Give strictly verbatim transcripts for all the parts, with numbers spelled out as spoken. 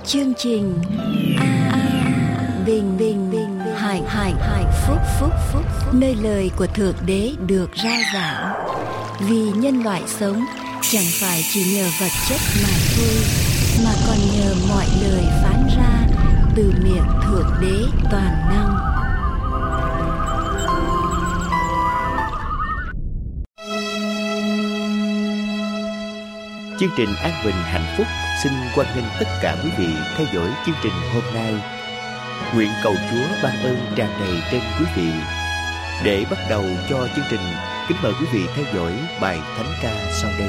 chương trình A, A Bình Bình Bình Hạnh Hạnh Hạnh Phúc Phúc Phúc nơi lời của Thượng Đế được rao giảng. Vì nhân loại sống chẳng phải chỉ nhờ vật chất mà thôi, mà còn nhờ mọi lời phán ra từ miệng Thượng Đế toàn năng. Chương trình An Bình Hạnh Phúc xin hoan nghênh tất cả quý vị theo dõi chương trình hôm nay. Nguyện cầu Chúa ban ơn tràn đầy trên quý vị. Để bắt đầu cho chương trình, kính mời quý vị theo dõi bài thánh ca sau đây.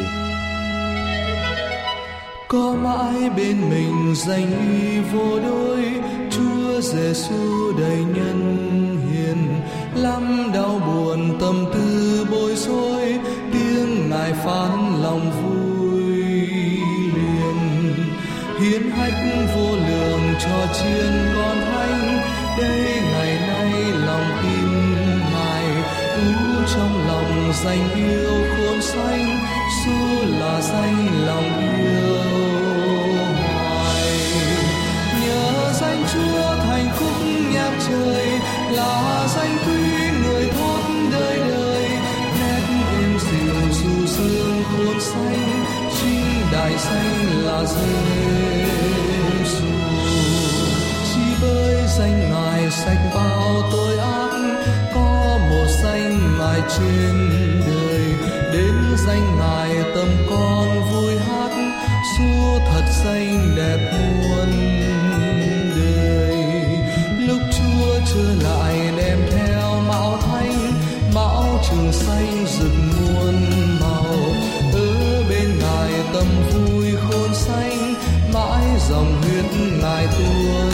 Có mãi bên mình danh uy vô đối, Chúa Giêsu đầy nhân hiền. Lắm đau buồn tâm tư bối rối, tiếng Ngài phán lòng vui liền. Hiến hách vô lượng cho chiên con thánh, đây ngày nay lòng tin Ngài. Ú trong lòng danh yêu khôn sánh, Giêsu là danh lòng yêu hoài. Nhờ danh Chúa thành khúc nhạc trời, là danh quý người thốt đời đời. Nét êm dịu du dương khôn sánh, chính đại danh là Giêsu. Chỉ bởi danh Ngài sạch bao tội ác, có một danh Ngài trên đời. Đến danh Ngài tâm con vui hát, Giêsu thật danh đẹp muôn đời. Lúc Chúa trở lại đem theo mão thánh, mão trường xanh rực muôn màu. Ở bên Ngài tâm vui khôn sánh, mãi dòng huyết Ngài tuôn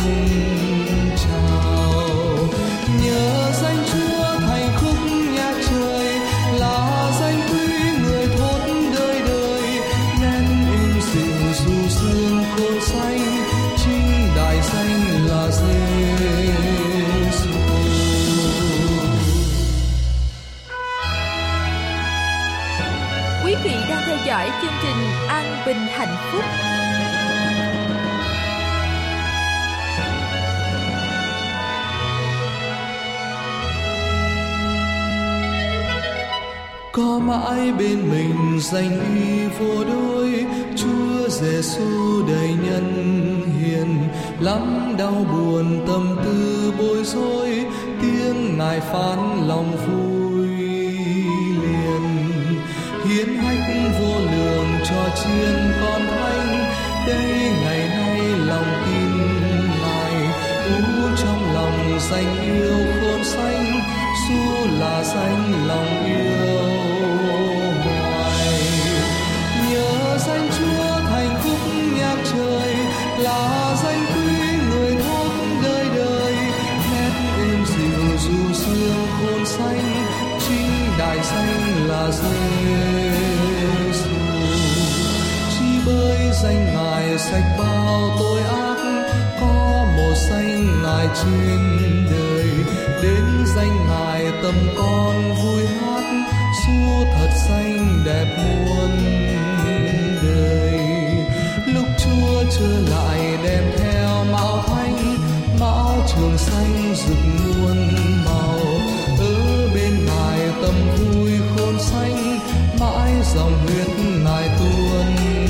trào. Nhờ danh Chúa thành khúc nhạc trời, là danh quý người thốt đời đời. Nét êm dịu du dương khôn sánh, chính đại danh là Giêsu. Quý vị đang theo dõi chương trình An Bình Hạnh Phúc. Có mãi bên mình danh uy vô đối, Chúa Giêsu đầy nhân hiền. Lắm đau buồn tâm tư bối rối, tiếng Ngài phán lòng vui liền. Hiến hách vô lượng cho chiên con thánh, đây ngày nay lòng tin Ngài. Ú trong lòng danh yêu khôn sánh, Giêsu là danh lòng yêu hoài. Nhờ danh Chúa thành khúc nhạc trời, là danh quý người thốt đời đời. Nét êm dịu du dương khôn sánh, chính đại danh là Giêsu. Chỉ bởi danh Ngài sạch bao tội ác, có một danh Ngài trên đời. Đến danh Ngài tâm con vui hát, Giêsu thật danh đẹp muôn đời. Lúc Chúa trở lại đem theo mão thánh, mão trường xanh rực muôn màu. Ở bên Ngài tâm vui khôn sánh, mãi dòng huyết Ngài tuôn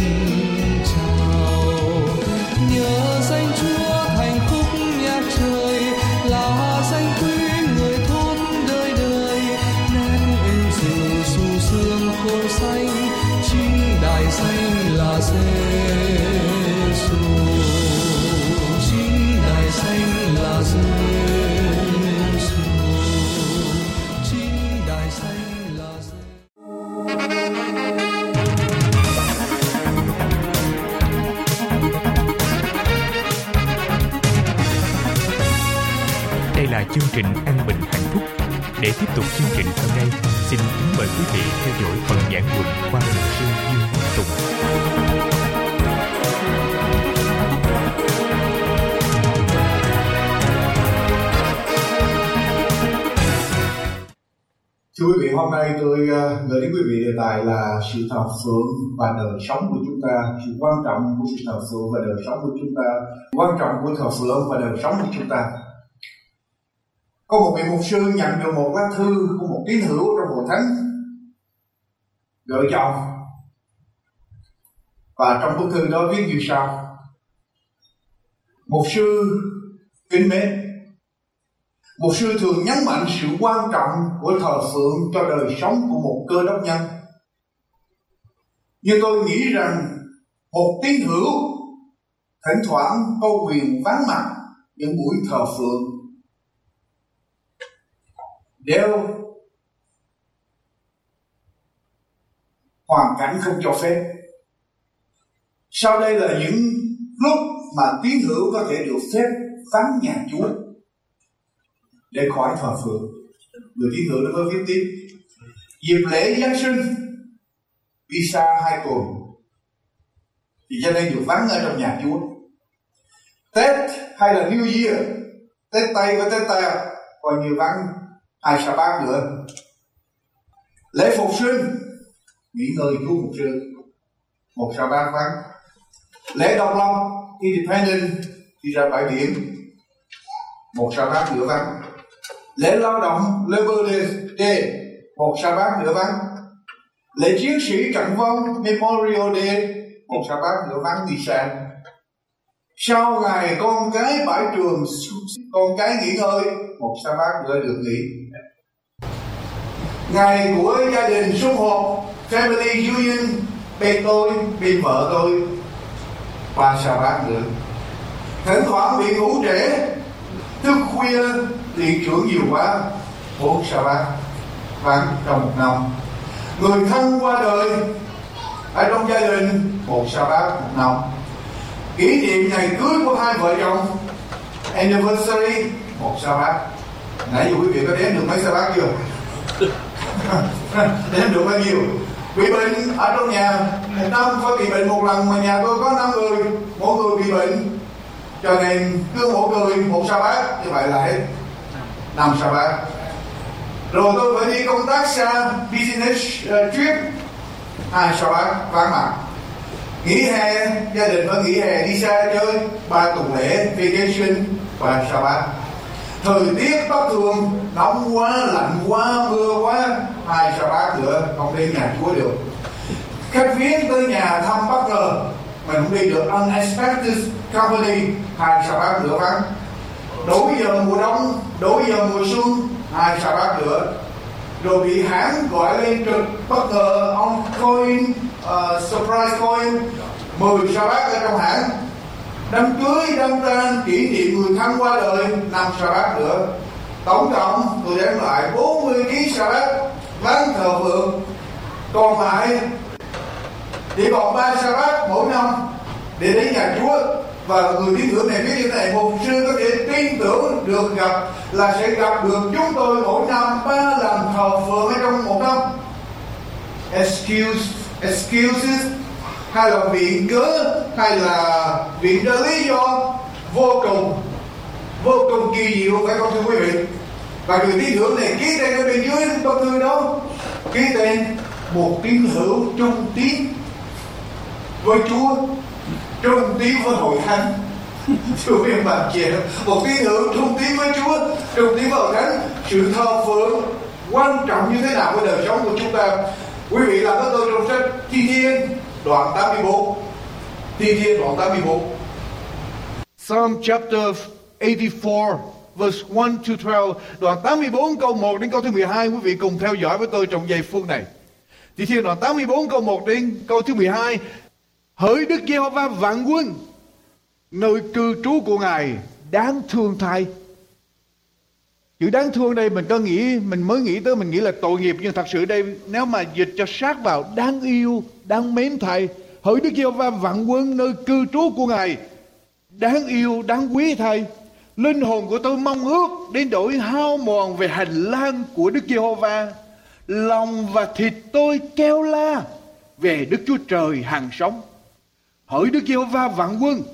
trào. Nhờ danh Chúa thành khúc nhạc trời, là danh quý người thốt đời đời. Nét êm dịu du dương khôn sánh, chính đại danh là Giêsu. Chính đại danh là Giêsu. Chính đại danh là Đây là chương trình An Bình Hạnh Phúc. Để tiếp tục chương trình hôm nay, xin kính mời quý vị theo dõi phần giảng luận qua mục sư Dương Văn Tùng. Thưa quý vị, hôm nay tôi uh, gửi đến quý vị đề tài là sự thờ phượng và đời sống của chúng ta, sự quan trọng của sự thờ phượng và đời sống của chúng ta, quan trọng của thờ phượng và đời sống của chúng ta. Có một vị mục sư nhận được một lá thư của một tín hữu trong hội thánh gửi cho ông, và trong bức thư đó viết như sau: Mục sư kính mến, mục sư thường nhấn mạnh sự quan trọng của thờ phượng cho đời sống của một cơ đốc nhân. Nhưng tôi nghĩ rằng một tín hữu thỉnh thoảng có quyền vắng mặt những buổi thờ phượng nếu hoàn cảnh không cho phép. Sau đây là những lúc mà tín hữu có thể được phép vắng nhà Chúa để khỏi thờ phượng. Người tín hữu nó có viết tiếp: dịp lễ Giáng sinh đi xa hai tuần thì cho nên được vắng ở trong nhà Chúa. Tết hay là New Year, Tết Tây và Tết Ta coi như vắng hai sa bát nữa. Lễ phục sinh nghỉ ngơi Chúa mục sư, một sa bát vắng. Lễ độc lập Independent đi ra bãi biển, một sa bát nữa vắng. Lễ lao động Labor Day, một sa bát nữa vắng. Lễ chiến sĩ trận vong Memorial Day, một sa bát nữa vắng đi xa. Sau ngày con cái bãi trường, con cái nghỉ ngơi, một sa bát nữa được nghỉ. Ngày của gia đình sum họp Family Union, bên tôi, bên vợ tôi, ba sa bát nữa. Thỉnh thoảng bị ngủ trễ, thức khuya, điện trưởng nhiều quá, bốn sa bát vắng trong một năm. Người thân qua đời ở trong gia đình, một sa bát một năm. Kỷ niệm ngày cưới của hai vợ chồng, anniversary, một sa bát. Nãy giờ quý vị có đếm được mấy sa bát chưa? Đếm được bao nhiêu? Bị bệnh ở trong nhà, một năm phải bị bệnh một lần, mà nhà tôi có năm người, mỗi người bị bệnh, cho nên cứ mỗi người một sa bát, như vậy là hết năm sa bát. Rồi tôi phải đi công tác xa, business uh, trip, hai sa bát vắng mặt. Nghỉ hè, gia đình phải nghỉ hè đi xa chơi, ba tuần lễ vacation và sa bát. Thời tiết bất thường, nóng quá, lạnh quá, mưa quá, hai sa bát nữa không đến nhà Chúa được. Khách viếng tới nhà thăm bất ngờ, mình không đi được, unexpected company, hai sa bát nữa vắng. Đổi giờ mùa đông, đổi giờ mùa xuân, hai sa bát nữa. Rồi bị hãng gọi lên trực bất ngờ, on coin, uh, surprise coin, mười sa bát ở trong hãng. Đám cưới, đám tang, kỷ niệm người thân qua đời, năm sa bát nữa. Tổng cộng tôi đếm lại bốn mươi ký sa bát vắng thờ phượng. Còn lại chỉ còn ba sa bát mỗi năm để đến nhà Chúa. Và người tín hữu này viết như thế này: mục sư có thể tin tưởng được gặp là sẽ gặp được chúng tôi mỗi năm ba lần thờ phượng ở trong một năm. Excuse, excuses hay là viện cớ hay là viện ra lý do vô cùng vô cùng kỳ diệu, phải không thưa quý vị? Và người tín hữu này ký tên ở bên dưới bức thư đó, ký tên một tín hữu trung tín với Chúa, trung tín với hội thánh. Thưa quý bạn chị, một tín hữu trung tín với Chúa, trung tín với hội thánh. Sự thờ phượng quan trọng như thế nào với đời sống của chúng ta? Quý vị làm với tôi trong sách Thi Thiên đoạn tám mươi bốn. Thi Thiên đoạn tám mươi bốn. Psalm chapter eighty-four verse one to twelve, đoạn tám mươi bốn câu một đến câu thứ mười hai. Quý vị cùng theo dõi với tôi trong giây phút này. Thi Thiên đoạn tám mươi bốn câu một đến câu thứ mười hai. Hỡi Đức Giê-hô-va vạn quân, nơi cư trú của Ngài đáng thương thay. Chữ đáng thương đây mình có nghĩ, mình mới nghĩ tới mình nghĩ là tội nghiệp, nhưng thật sự đây nếu mà dịch cho sát vào, đáng yêu, đáng mến thay. Hỡi Đức Giê-hô-va vạn quân, nơi cư trú của Ngài đáng yêu, đáng quý thay. Linh hồn của tôi mong ước đến đổi hao mòn về hành lang của Đức Giê-hô-va. Lòng và thịt tôi kêu la về Đức Chúa Trời hàng sống. Hỡi Đức Giê-hô-va vạn quân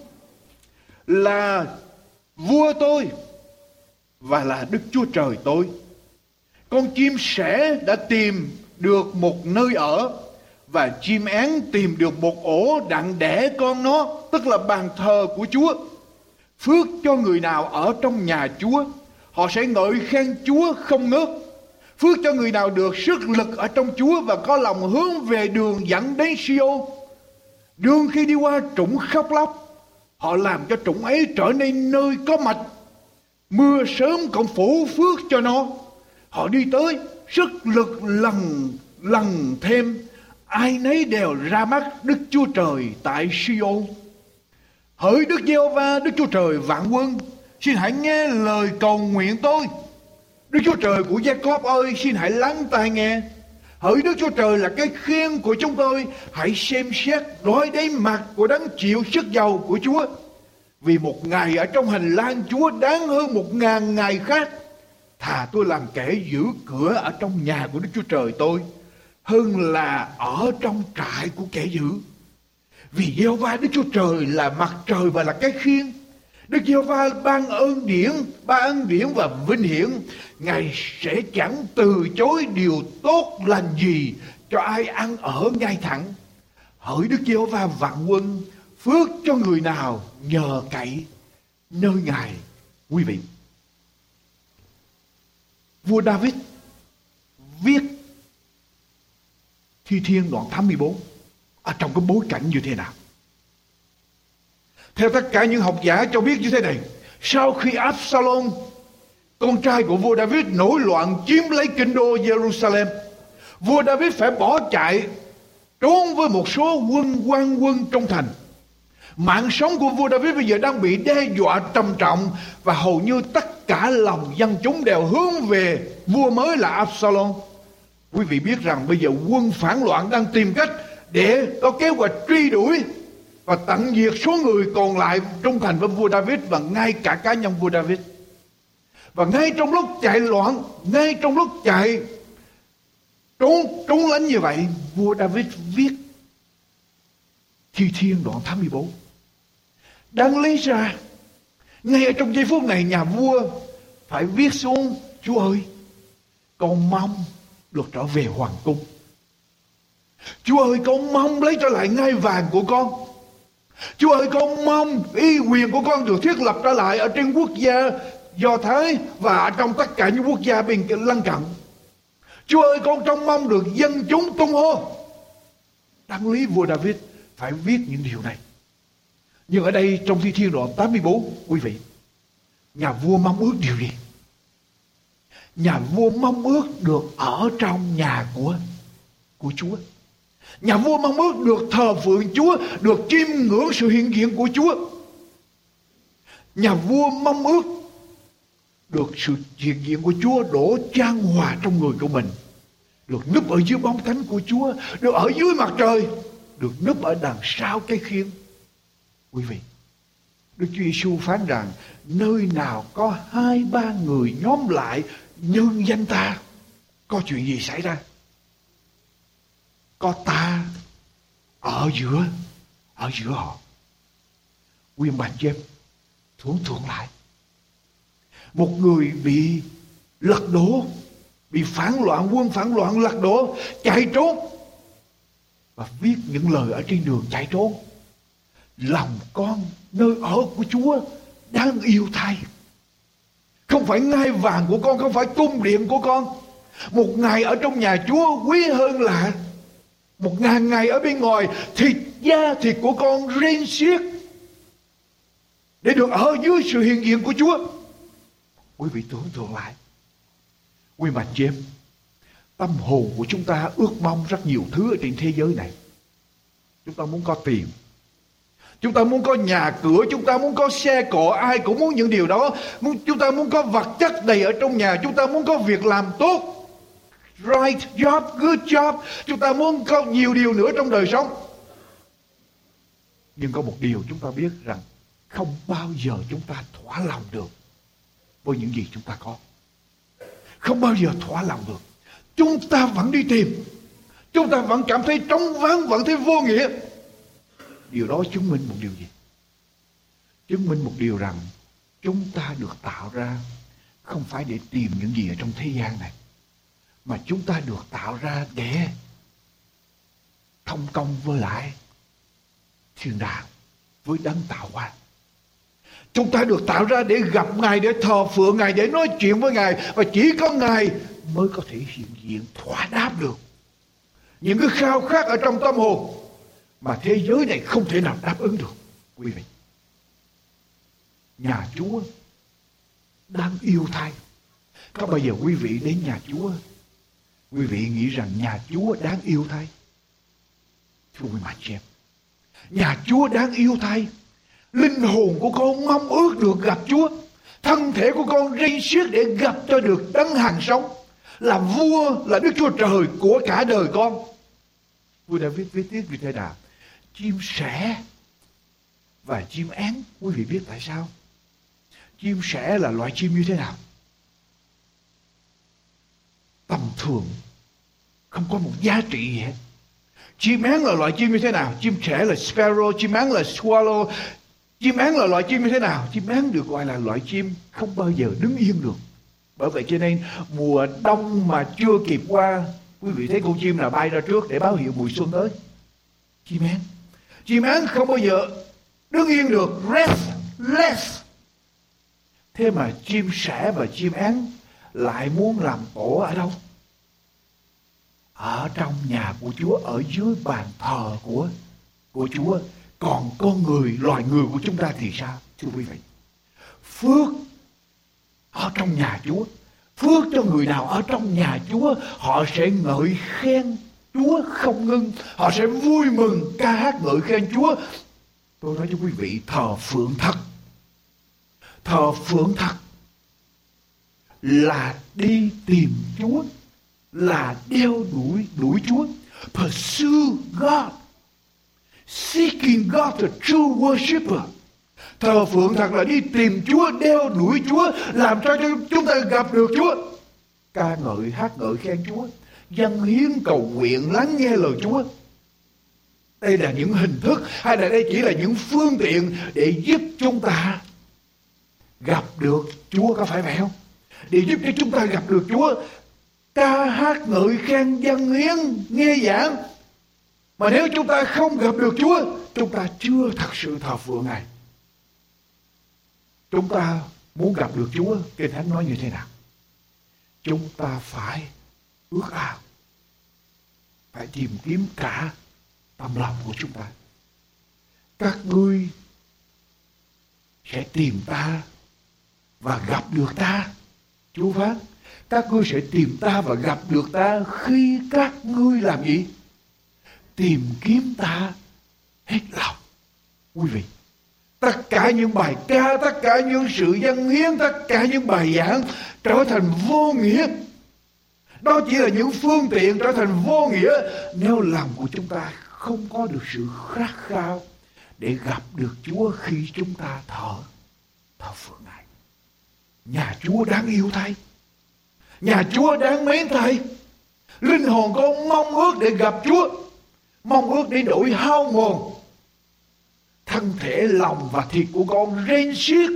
là vua tôi và là Đức Chúa Trời tôi. Con chim sẻ đã tìm được một nơi ở, và chim én tìm được một ổ đặng đẻ con nó, tức là bàn thờ của Chúa. Phước cho người nào ở trong nhà Chúa, họ sẽ ngợi khen Chúa không ngớt. Phước cho người nào được sức lực ở trong Chúa và có lòng hướng về đường dẫn đến Siôn. Đường khi đi qua trũng khóc lóc, họ làm cho trũng ấy trở nên nơi có mạch. Mưa sớm cũng phủ phước cho nó. Họ đi tới, sức lực lần lần thêm, ai nấy đều ra mắt Đức Chúa Trời tại Siôn. Hỡi Đức Giê-hô-va, Đức Chúa Trời vạn quân, xin hãy nghe lời cầu nguyện tôi. Đức Chúa Trời của Gia-cốp ơi, xin hãy lắng tai nghe. Hỡi Đức Chúa Trời là cái khiên của chúng tôi, hãy xem xét đói đáy mặt của đấng chịu sức giàu của Chúa. Vì một ngày ở trong hành lang Chúa đáng hơn một ngàn ngày khác. Thà tôi làm kẻ giữ cửa ở trong nhà của Đức Chúa Trời tôi, hơn là ở trong trại của kẻ giữ. Vì Giê-hô-va Đức Chúa Trời là mặt trời và là cái khiên. Đức Giê-hô-va ban ơn điển, ban ơn điển và vinh hiển. Ngài sẽ chẳng từ chối điều tốt lành gì cho ai ăn ở ngay thẳng. Hỡi Đức Giê-hô-va vạn quân, phước cho người nào nhờ cậy nơi Ngài. Quý vị, vua David viết Thi Thiên đoạn tám mươi bốn ở trong cái bối cảnh như thế nào? Theo tất cả những học giả cho biết như thế này: sau khi Absalom, con trai của vua David, nổi loạn chiếm lấy kinh đô Jerusalem, vua David phải bỏ chạy trốn với một số quân quan quân trong thành. Mạng sống của vua David bây giờ đang bị đe dọa trầm trọng, và hầu như tất cả lòng dân chúng đều hướng về vua mới là Absalom. Quý vị biết rằng bây giờ quân phản loạn đang tìm cách để có kế hoạch truy đuổi và tận diệt số người còn lại trung thành với vua David, và ngay cả cá nhân vua David. Và ngay trong lúc chạy loạn, ngay trong lúc chạy trốn trốn lánh như vậy, vua David viết Thi Thiên đoạn tám mươi bốn. Đáng lý ra ngay ở trong giây phút này, nhà vua phải viết xuống: Chúa ơi, con mong được trở về hoàng cung. Chúa ơi, con mong lấy trở lại ngai vàng của con. Chúa ơi, con mong uy quyền của con được thiết lập trở lại ở trên quốc gia Do Thái và trong tất cả những quốc gia bên lân cận. Chúa ơi, con trông mong được dân chúng tung hô. Đáng lý vua David phải viết những điều này. Nhưng ở đây trong Thi Thiên đoạn tám mươi bốn, quý vị, nhà vua mong ước điều gì? Nhà vua mong ước được ở trong nhà của của Chúa. Nhà vua mong ước được thờ phượng Chúa, được chiêm ngưỡng sự hiện diện của Chúa. Nhà vua mong ước được sự hiện diện của Chúa đổ chan hòa trong người của mình, được núp ở dưới bóng cánh của Chúa, được ở dưới mặt trời, được núp ở đằng sau cái khiên. Quý vị, Đức Chúa Giêsu phán rằng nơi nào có hai ba người nhóm lại nhân danh ta, có chuyện gì xảy ra? Có ta ở giữa, ở giữa họ. Nguyên bản chép thuận thuận lại. Một người bị lật đổ, bị phản loạn, quân phản loạn lật đổ, chạy trốn, và viết những lời ở trên đường chạy trốn: lòng con nơi ở của Chúa đáng yêu thay. Không phải ngai vàng của con, không phải cung điện của con. Một ngày ở trong nhà Chúa quý hơn là một ngàn ngày ở bên ngoài. Thịt da thịt của con rên xiết để được ở dưới sự hiện diện của Chúa. Quý vị tưởng tượng lại, quý bà chị em, tâm hồn của chúng ta ước mong rất nhiều thứ ở trên thế giới này. Chúng ta muốn có tiền, chúng ta muốn có nhà cửa, chúng ta muốn có xe cộ, ai cũng muốn những điều đó. Chúng ta muốn có vật chất đầy ở trong nhà, chúng ta muốn có việc làm tốt, right job, good job. Chúng ta muốn có nhiều điều nữa trong đời sống. Nhưng có một điều chúng ta biết rằng không bao giờ chúng ta thỏa lòng được với những gì chúng ta có. Không bao giờ thỏa lòng được. Chúng ta vẫn đi tìm, chúng ta vẫn cảm thấy trống vắng, vẫn thấy vô nghĩa. Điều đó chứng minh một điều gì? Chứng minh một điều rằng chúng ta được tạo ra không phải để tìm những gì ở trong thế gian này. mà chúng ta được tạo ra để thông công với lại thiên đàng, với đấng tạo hóa. Chúng ta được tạo ra để gặp Ngài, để thờ phượng Ngài, để nói chuyện với Ngài, và chỉ có Ngài mới có thể hiện diện thỏa đáp được những cái khao khát ở trong tâm hồn mà thế giới này không thể nào đáp ứng được. Quý vị, nhà Chúa đang yêu thay. Có bao giờ quý vị đến nhà Chúa, quý vị nghĩ rằng nhà Chúa đáng yêu thay? Thưa quý bạn chị em, nhà Chúa đáng yêu thay. Linh hồn của con mong ước được gặp Chúa. Thân thể của con rên xiết để gặp cho được đấng hàng sống, là vua, là Đức Chúa Trời của cả đời con. Vua đã viết viết tiếp như thế nào? Chim sẻ và chim én. Quý vị biết tại sao? Chim sẻ là loại chim như thế nào? Tầm thường, không có một giá trị gì hết. Chim én là loại chim như thế nào? Chim sẻ là sparrow, chim én là swallow. Chim én là loại chim như thế nào? Chim én được gọi là loại chim không bao giờ đứng yên được. Bởi vậy cho nên mùa đông mà chưa kịp qua, quý vị thấy con chim nào bay ra trước để báo hiệu mùa xuân tới? Chim én. Chim én không bao giờ đứng yên được. Rest, rest. Thế mà chim sẻ và chim én lại muốn làm tổ ở đâu? Ở trong nhà của Chúa, ở dưới bàn thờ của của Chúa. Còn con người, loài người của chúng ta thì sao? Thưa quý vị, phước ở trong nhà Chúa. Phước cho người nào ở trong nhà Chúa, họ sẽ ngợi khen Chúa không ngưng. Họ sẽ vui mừng ca hát ngợi khen Chúa. Tôi nói cho quý vị, thờ phượng thật, thờ phượng thật là đi tìm Chúa, là đeo đuổi đuổi Chúa. Pursue God, seeking God, the true worshipper. Thờ phượng thật là đi tìm Chúa, đeo đuổi Chúa, làm cho chúng ta gặp được Chúa. Ca ngợi, hát ngợi khen Chúa, dâng hiến cầu nguyện, lắng nghe lời Chúa. Đây là những hình thức, hay là đây chỉ là những phương tiện để giúp chúng ta gặp được Chúa, có phải vậy không? Để giúp cho chúng ta gặp được Chúa. Ca hát ngợi khen, dâng hiến, nghe giảng. Mà nếu chúng ta không gặp được Chúa, chúng ta chưa thật sự thờ phượng Ngài. Chúng ta muốn gặp được Chúa, Kinh Thánh nói như thế nào? Chúng ta phải ước ao, phải tìm kiếm cả tâm lòng của chúng ta. Các ngươi sẽ tìm ta và gặp được ta. Chúa phán, các ngươi sẽ tìm ta và gặp được ta khi các ngươi làm gì? Tìm kiếm ta hết lòng. Quý vị, tất cả những bài ca, tất cả những sự dâng hiến, tất cả những bài giảng trở thành vô nghĩa. Đó chỉ là những phương tiện trở thành vô nghĩa nếu lòng của chúng ta không có được sự khát khao để gặp được Chúa khi chúng ta thờ thờ phượng Ngài. Nhà Chúa đáng yêu thay, nhà Chúa đáng mến thay. Linh hồn con mong ước để gặp Chúa, mong ước để đổi hao mòn. Thân thể, lòng và thịt của con rên xiết,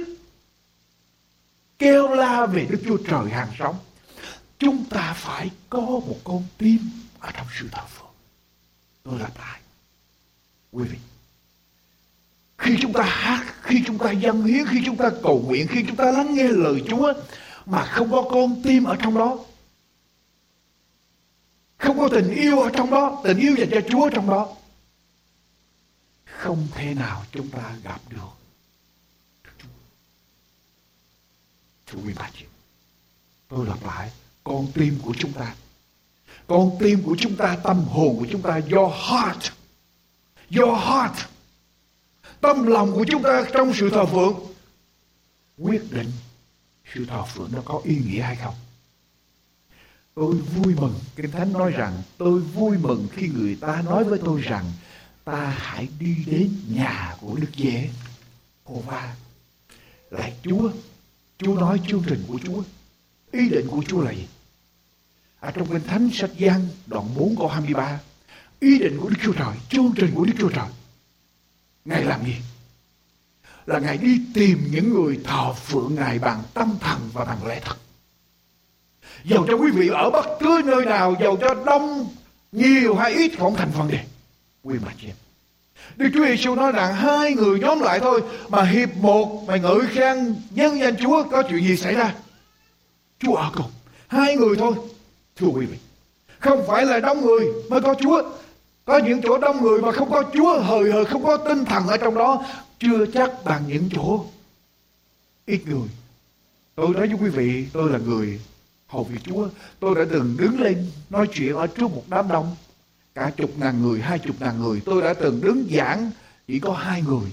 kêu la về Đức Chúa Trời hàng sống. Chúng ta phải có một con tim ở trong sự thờ phượng. Tôi lặp lại, quý vị, khi chúng ta hát, khi chúng ta dâng hiến, khi chúng ta cầu nguyện, khi chúng ta lắng nghe lời Chúa mà không có con tim ở trong đó, không có tình yêu ở trong đó, tình yêu dành cho Chúa trong đó, không thể nào chúng ta gặp được Chúa. Thưa quý bà chị, tôi lặp lại, con tim của chúng ta, con tim của chúng ta, tâm hồn của chúng ta, your heart, your heart, tâm lòng của chúng ta trong sự thờ phượng quyết định sự thờ phượng nó có ý nghĩa hay không. Tôi vui mừng, Kinh Thánh nói rằng tôi vui mừng khi người ta nói với tôi rằng ta hãy đi đến nhà của Đức Giê-hô-va. Lại Chúa, Chúa nói chương trình của Chúa, ý định của Chúa là gì? Ở trong Kinh Thánh sách Giăng đoạn bốn câu hai mươi ba, ý định của Đức Chúa Trời, chương trình của Đức Chúa Trời, Ngài làm gì? Là Ngài đi tìm những người thờ phượng Ngài bằng tâm thần và bằng lẽ thật. Dầu cho quý vị ở bất cứ nơi nào, dầu cho đông, nhiều hay ít không thành vấn đề. Quý bà chị em, Đức Chúa Giêsu nói rằng hai người nhóm lại thôi mà hiệp một, mà ngợi khen nhân danh Chúa, có chuyện gì xảy ra? Chúa ở cùng. Hai người thôi. Thưa quý vị, không phải là đông người mới có Chúa. Có những chỗ đông người mà không có Chúa, hời hợt, không có tinh thần ở trong đó, chưa chắc bằng những chỗ ít người. Tôi nói với quý vị, tôi là người hầu việc Chúa. Tôi đã từng đứng lên nói chuyện ở trước một đám đông cả chục ngàn người, hai chục ngàn người. Tôi đã từng đứng giảng chỉ có hai người.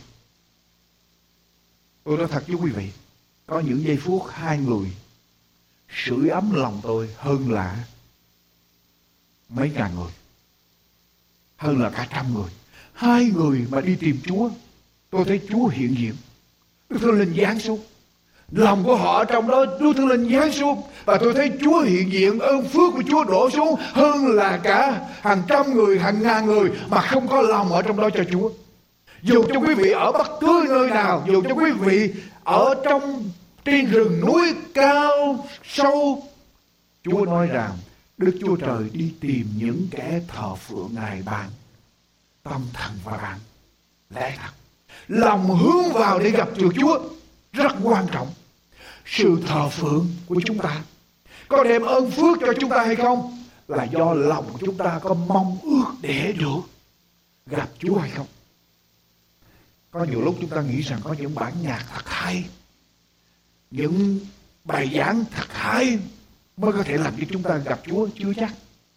Tôi nói thật với quý vị, có những giây phút hai người sưởi ấm lòng tôi hơn là mấy ngàn người, hơn là cả trăm người. Hai người mà đi tìm Chúa, tôi thấy Chúa hiện diện. Đức Thánh Linh giáng xuống, lòng của họ trong đó Đức Thánh Linh giáng xuống, và tôi thấy Chúa hiện diện, ơn phước của Chúa đổ xuống hơn là cả hàng trăm người, hàng ngàn người mà không có lòng ở trong đó cho Chúa. Dù cho quý vị ở bất cứ nơi nào, dù cho quý vị ở trong trên rừng núi cao sâu, Chúa nói rằng Đức Chúa Trời đi tìm những kẻ thờ phượng Ngài bằng tâm thần và bằng lẽ thật. Lòng hướng vào để gặp được Chúa rất quan trọng. Sự thờ phượng của chúng ta có đem ơn phước cho chúng ta hay không là do lòng chúng ta có mong ước để được gặp Chúa hay không. Có nhiều lúc chúng ta nghĩ rằng có những bản nhạc thật hay, những bài giảng thật hay mới có thể làm cho chúng ta gặp Chúa. Chưa chắc.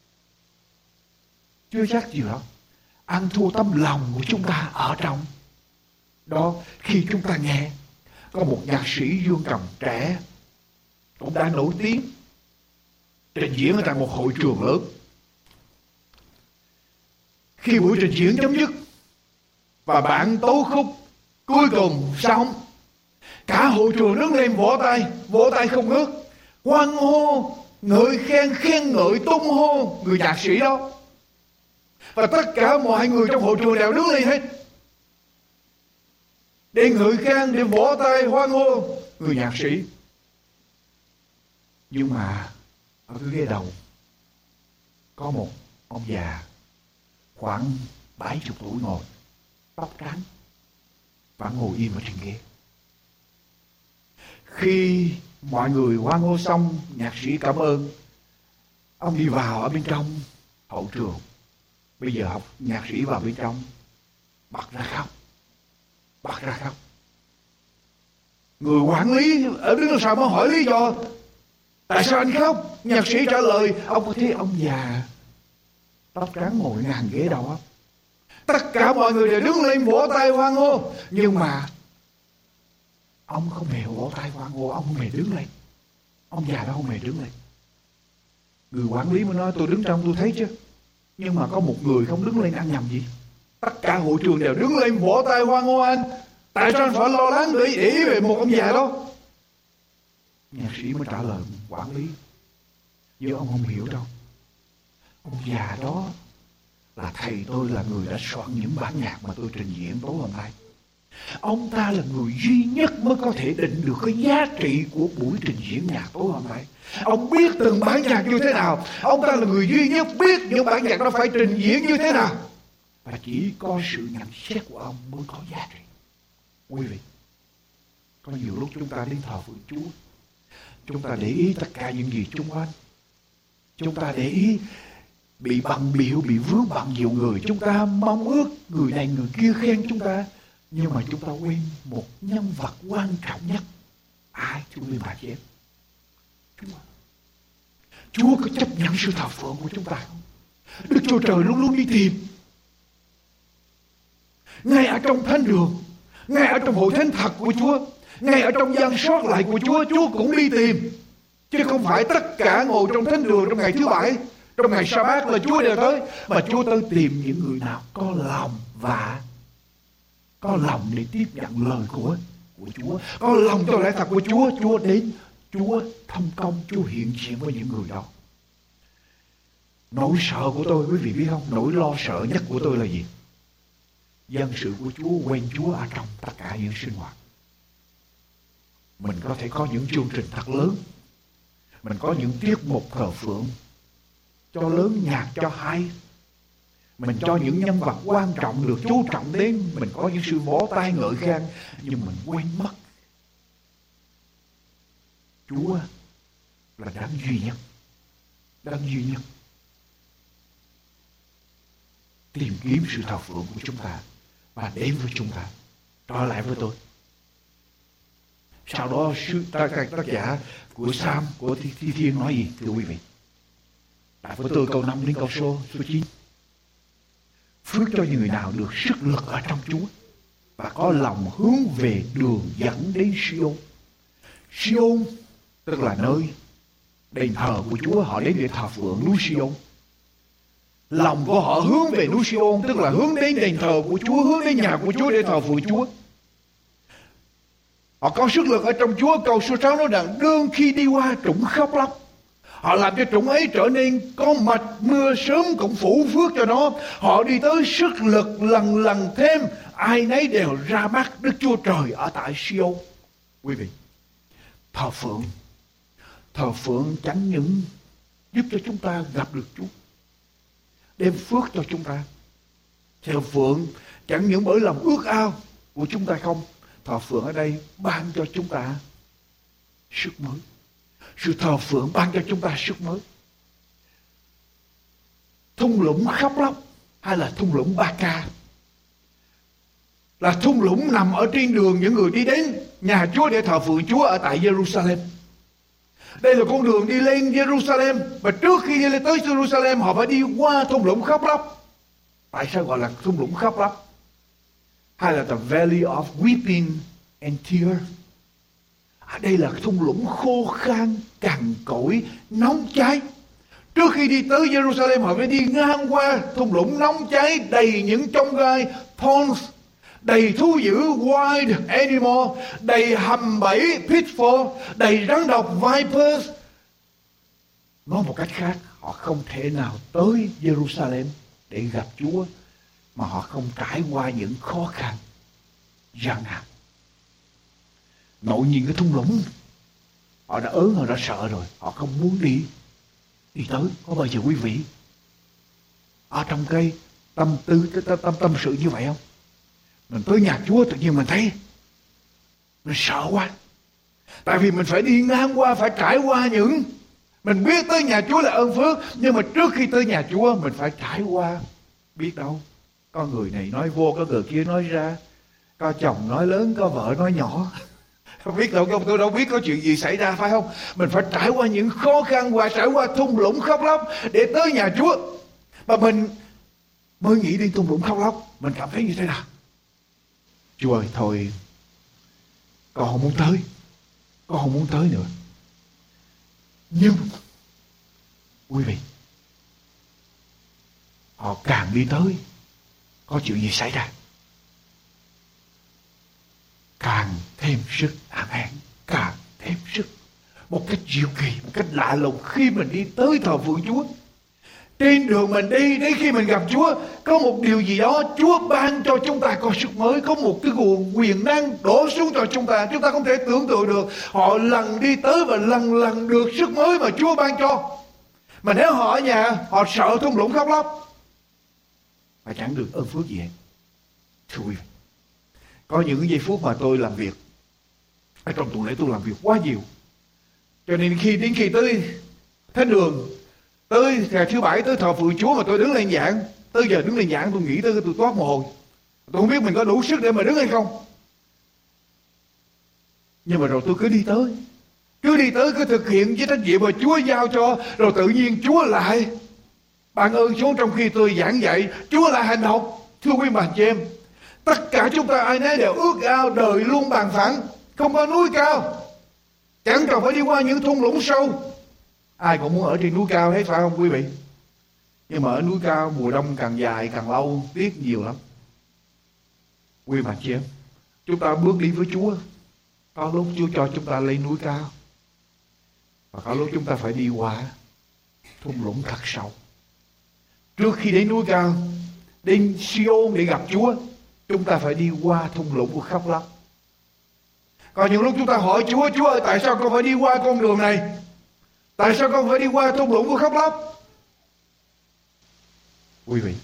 Chưa chắc gì đó. Ăn thua tấm lòng của chúng ta ở trong đó. Khi chúng ta nghe có một nhạc sĩ dương cầm trẻ cũng đã nổi tiếng trình diễn ở tại một hội trường lớn. Khi buổi trình diễn chấm dứt và bạn tấu khúc cuối cùng xong, cả hội trường đứng lên vỗ tay, vỗ tay không ngớt, hoan hô, ngợi khen, khen ngợi, tung hô người nhạc sĩ đó. Và tất cả mọi người trong hội trường đều đứng lên hết để ngợi khen, để vỗ tay hoan hô người nhạc sĩ. Nhưng mà ở cái ghế đầu có một ông già khoảng bảy chục tuổi ngồi, tóc trắng, và ngồi im ở trên ghế. Khi mọi người hoan hô xong, nhạc sĩ cảm ơn, ông đi vào ở bên trong hậu trường. Bây giờ học nhạc sĩ vào bên trong, bật ra khóc, bật ra khóc. Người quản lý ở đứng sau mới hỏi lý do, tại sao anh khóc? Nhạc sĩ trả lời, ông có thấy ông già tóc trắng ngồi ngang ghế đầu không? Tất cả mọi người đều đứng lên vỗ tay hoan hô, nhưng mà ông không hề vỗ tay hoan hô, ông không hề đứng lên. Ông già đó không hề đứng lên. Người quản lý mới nói, tôi đứng trong tôi thấy chứ, nhưng mà có một người không đứng lên, ăn nhầm gì? Tất cả hội trường đều đứng lên vỗ tay hoan hô anh. Tại sao anh phải lo lắng để ý về một ông già đó? Nhạc sĩ mới trả lời quản lý, nhưng ông không hiểu đâu. Ông già đó là thầy tôi, là người đã soạn những bản nhạc mà tôi trình diễn tối hôm nay. Ông ta là người duy nhất mới có thể định được cái giá trị của buổi trình diễn nhạc tối hôm nay. Ông biết từng bản nhạc như thế nào. Ông ta là người duy nhất biết những bản nhạc đó phải trình diễn như thế nào. Và chỉ có sự nhận xét của ông mới có giá trị. Quý vị, có nhiều lúc chúng ta đến thờ phượng Chúa, chúng ta để ý tất cả những gì xung quanh. Chúng ta để ý bị bận biểu, bị vướng bận nhiều người. Chúng ta mong ước người này người kia khen chúng ta, nhưng mà chúng ta quên một nhân vật quan trọng nhất. Ai? Thưa quý bà chị em, Chúa. Chúa có chấp nhận sự thờ phượng của chúng ta không? Đức Chúa Trời luôn luôn đi tìm. Ngay ở trong thánh đường, ngay ở trong hội thánh thật của Chúa, ngay ở trong gian sót lại của Chúa, Chúa cũng đi tìm. Chứ không phải tất cả ngồi trong thánh đường trong ngày thứ bảy, trong ngày sa-bát là Chúa đều tới, mà Chúa tới tìm những người nào có lòng và có lòng để tiếp nhận lời của của Chúa, có lòng cho lẽ thật của Chúa. Chúa đến, Chúa thông công, Chúa hiện diện với những người đó. Nỗi sợ của tôi, quý vị biết không? Nỗi lo sợ nhất của tôi là gì? Dân sự của Chúa, quen Chúa ở trong tất cả những sinh hoạt. Mình có thể có những chương trình thật lớn, Mình có những tiết mục thờ phượng cho lớn nhạc cho hay. Mình cho những nhân vật quan trọng được chú trọng đến. Mình có những sự vỗ tay ngợi khen. Nhưng mình quên mất Chúa là đấng duy nhất. Đấng duy nhất. Tìm kiếm sự thờ phượng của chúng ta và đến với chúng ta. Trở lại với tôi. Sau đó tác, tác giả của Psalm, của Thi, Thi Thiên nói gì thưa quý vị? Tại với tôi câu năm đến câu số, số chín. Phước cho những người nào được sức lực ở trong Chúa và có lòng hướng về đường dẫn đến Siôn. Siôn tức là nơi đền thờ của Chúa, họ đến để thờ phượng núi Siôn. Lòng của họ hướng về núi Siôn, tức là hướng đến đền thờ của Chúa, hướng đến nhà của Chúa để thờ phượng Chúa. Họ có sức lực ở trong Chúa. Câu số sáu nói rằng đương khi đi qua trũng khóc lóc, họ làm cho trũng ấy trở nên có mạch, mưa sớm cũng phủ phước cho nó. Họ đi tới sức lực lần lần thêm, ai nấy đều ra mắt Đức Chúa Trời ở tại Siôn. Quý vị, thờ phượng, thờ phượng chẳng những giúp cho chúng ta gặp được Chúa, đem phước cho chúng ta. Thờ phượng chẳng những bởi lòng ước ao của chúng ta không, thờ phượng ở đây ban cho chúng ta sức mới. Sự thờ phượng ban cho chúng ta sức mới. Thung lũng khóc lóc hay là thung lũng Ba Ca là thung lũng nằm ở trên đường những người đi đến nhà Chúa để thờ phượng Chúa ở tại Jerusalem. Đây là con đường đi lên Jerusalem, và trước khi đi lên tới Jerusalem họ phải đi qua thung lũng khóc lóc. Tại sao gọi là thung lũng khóc lóc? Hay là the valley of weeping and tears? À, đây là thung lũng khô khan, cằn cỗi, nóng cháy. Trước khi đi tới Jerusalem họ phải đi ngang qua thung lũng nóng cháy đầy những chông gai, thorns, đầy thú dữ, wild animal, đầy hầm bẫy, pitfall, đầy rắn độc, vipers. Nói một cách khác, họ không thể nào tới Jerusalem để gặp Chúa mà họ không trải qua những khó khăn, gian nan. Ngẫu nhiên cái thung lũng, họ đã ớn, họ đã sợ rồi, họ không muốn đi đi tới. Có bao giờ quý vị ở trong cái tâm tư, cái tâm, tâm tâm sự như vậy không? Mình tới nhà Chúa tự nhiên mình thấy mình sợ quá, tại vì mình phải đi ngang qua, phải trải qua những, mình biết tới nhà Chúa là ơn phước, nhưng mà trước khi tới nhà Chúa mình phải trải qua, biết đâu có người này nói vô, có người kia nói ra, có chồng nói lớn, có vợ nói nhỏ. Không biết đâu, tôi đâu biết có chuyện gì xảy ra, phải không? Mình phải trải qua những khó khăn và trải qua thung lũng khóc lóc để tới nhà Chúa. Và mình mới nghĩ đến thung lũng khóc lóc, mình cảm thấy như thế nào? Chúa ơi, thôi con không muốn tới, con không muốn tới nữa. Nhưng quý vị, họ càng đi tới, có chuyện gì xảy ra? Càng thêm sức. Amen. Càng thêm sức. Một cách diệu kỳ, một cách lạ lùng, khi mình đi tới thờ phượng Chúa, trên đường mình đi, đến khi mình gặp Chúa, có một điều gì đó Chúa ban cho chúng ta có sức mới, có một cái nguồn quyền năng đổ xuống cho chúng ta, chúng ta không thể tưởng tượng được. Họ lần đi tới và lần lần được sức mới mà Chúa ban cho. Mà nếu họ ở nhà, họ sợ thung lũng khóc lóc và chẳng được ơn phước gì hết. Thưa quý vị, có những giây phút mà tôi làm việc ở trong tuần lễ, tôi làm việc quá nhiều, cho nên khi đến khi tới thánh đường, tới ngày thứ bảy tới thờ phượng Chúa mà tôi đứng lên giảng, tới giờ đứng lên giảng tôi nghĩ tới tôi toát mồ hôi, tôi không biết mình có đủ sức để mà đứng hay không. Nhưng mà rồi tôi cứ đi tới, cứ đi tới, cứ thực hiện với trách nhiệm mà Chúa giao cho, rồi tự nhiên Chúa lại ban ơn xuống. Trong khi tôi giảng dạy, Chúa lại hành động. Thưa quý bạn chị em, tất cả chúng ta ai nấy đều ước ao đời luôn bằng phẳng, không có núi cao, chẳng cần phải đi qua những thung lũng sâu. Ai cũng muốn ở trên núi cao hết, phải không quý vị? Nhưng mà ở núi cao mùa đông càng dài càng lâu, tiếc nhiều lắm. Quý bạn chị em, chúng ta bước đi với Chúa, có lúc Chúa cho chúng ta lên núi cao, và có lúc chúng ta phải đi qua thung lũng thật sâu. Trước khi đến núi cao, đến Siôn để gặp Chúa, chúng ta phải đi qua thung lũng của khóc lóc. Còn những lúc chúng ta hỏi Chúa, Chúa ơi tại sao con phải đi qua con đường này? Tại sao con phải đi qua thung lũng của khóc lóc? Quý vị,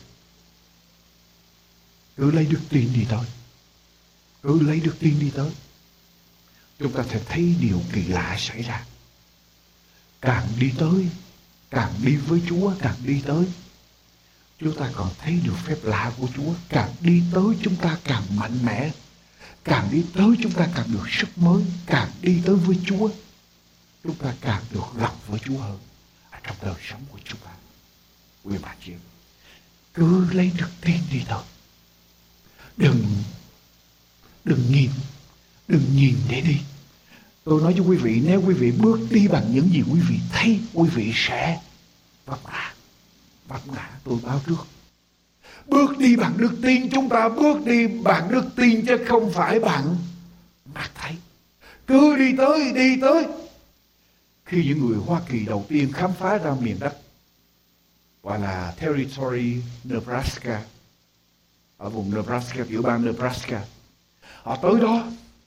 cứ lấy đức tin đi tới. Cứ lấy đức tin đi tới. Chúng ta sẽ thấy điều kỳ lạ xảy ra. Càng đi tới, càng đi với Chúa, càng đi tới, chúng ta còn thấy được phép lạ của Chúa. Càng đi tới chúng ta càng mạnh mẽ. Càng đi tới chúng ta càng được sức mới. Càng đi tới với Chúa, chúng ta càng được gặp với Chúa hơn ở trong đời sống của chúng ta. Quý bà chị, cứ lấy đức tin đi thôi. Đừng Đừng nhìn Đừng nhìn để đi. Tôi nói với quý vị, nếu quý vị bước đi bằng những gì quý vị thấy, quý vị sẽ vấp ngã. Vấp ngã, tôi báo trước. Bước đi bằng đức tin, chúng ta bước đi bằng đức tin chứ không phải bằng mắt thấy. Cứ đi tới, đi tới. Khi những người Hoa Kỳ đầu tiên khám phá ra miền đất gọi là Territory Nebraska, ở vùng Nebraska, tiểu bang Nebraska, họ tới đó,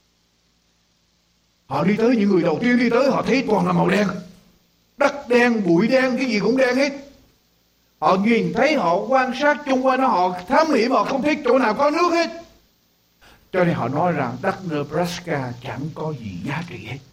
họ đi tới, những người đầu tiên đi tới, họ thấy toàn là màu đen, đất đen, bụi đen, cái gì cũng đen hết. Họ nhìn thấy, họ quan sát chung quanh nó, họ thám hiểm, họ không thấy chỗ nào có nước hết. Cho nên họ nói rằng đất Nebraska chẳng có gì giá trị hết.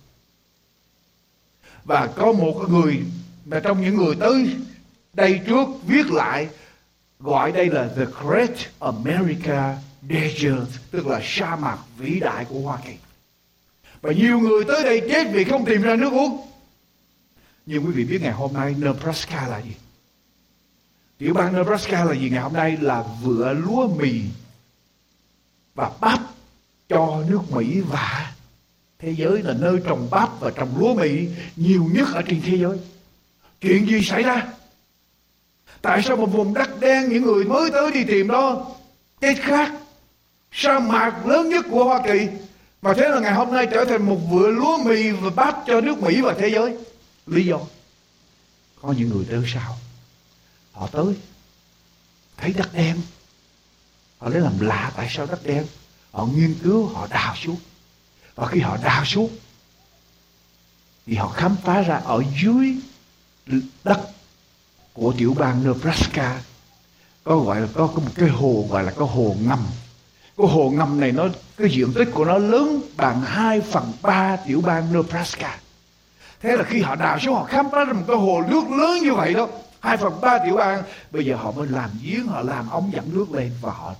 Và có một người mà trong những người tới đây trước viết lại, gọi đây là The Great America Desert, tức là sa mạc vĩ đại của Hoa Kỳ. Và nhiều người tới đây chết vì không tìm ra nước uống. Nhưng quý vị biết ngày hôm nay Nebraska là gì? Tiểu bang Nebraska là gì ngày hôm nay? Là vựa lúa mì và bắp cho nước Mỹ và thế giới, là nơi trồng bắp và trồng lúa mì nhiều nhất ở trên thế giới. Chuyện gì xảy ra? Tại sao một vùng đất đen, những người mới tới đi tìm đó chết khác? Sa mạc lớn nhất của Hoa Kỳ mà thế là ngày hôm nay trở thành một vựa lúa mì và bắp cho nước Mỹ và thế giới. Lý do? Có những người tới sau, họ tới thấy đất đen, họ lấy làm lạ tại sao đất đen. Họ nghiên cứu, họ đào xuống, và khi họ đào xuống thì họ khám phá ra ở dưới đất của tiểu bang Nebraska có gọi là có, có một cái hồ gọi là cái hồ ngầm. Cái hồ ngầm này nó, cái diện tích của nó lớn bằng hai phần ba tiểu bang Nebraska. Thế là khi họ đào xuống, họ khám phá ra một cái hồ nước lớn như vậy đó, hai phần ba tiểu bang. Bây giờ họ mới làm giếng, họ làm ống dẫn nước lên và họ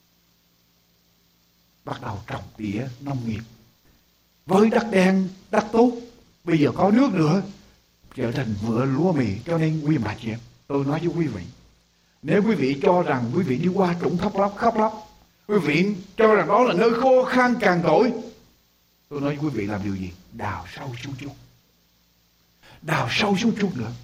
bắt đầu trồng tỉa nông nghiệp. Với đất đen, đất tốt, bây giờ có nước nữa, trở thành vựa lúa mì. Cho nên quý bà chị em, tôi nói với quý vị, nếu quý vị cho rằng quý vị đi qua trũng khóc lóc khóc lóc, quý vị cho rằng đó là nơi khô khan cằn cỗi, tôi nói với quý vị làm điều gì? Đào sâu xuống chút, đào sâu xuống chút nữa.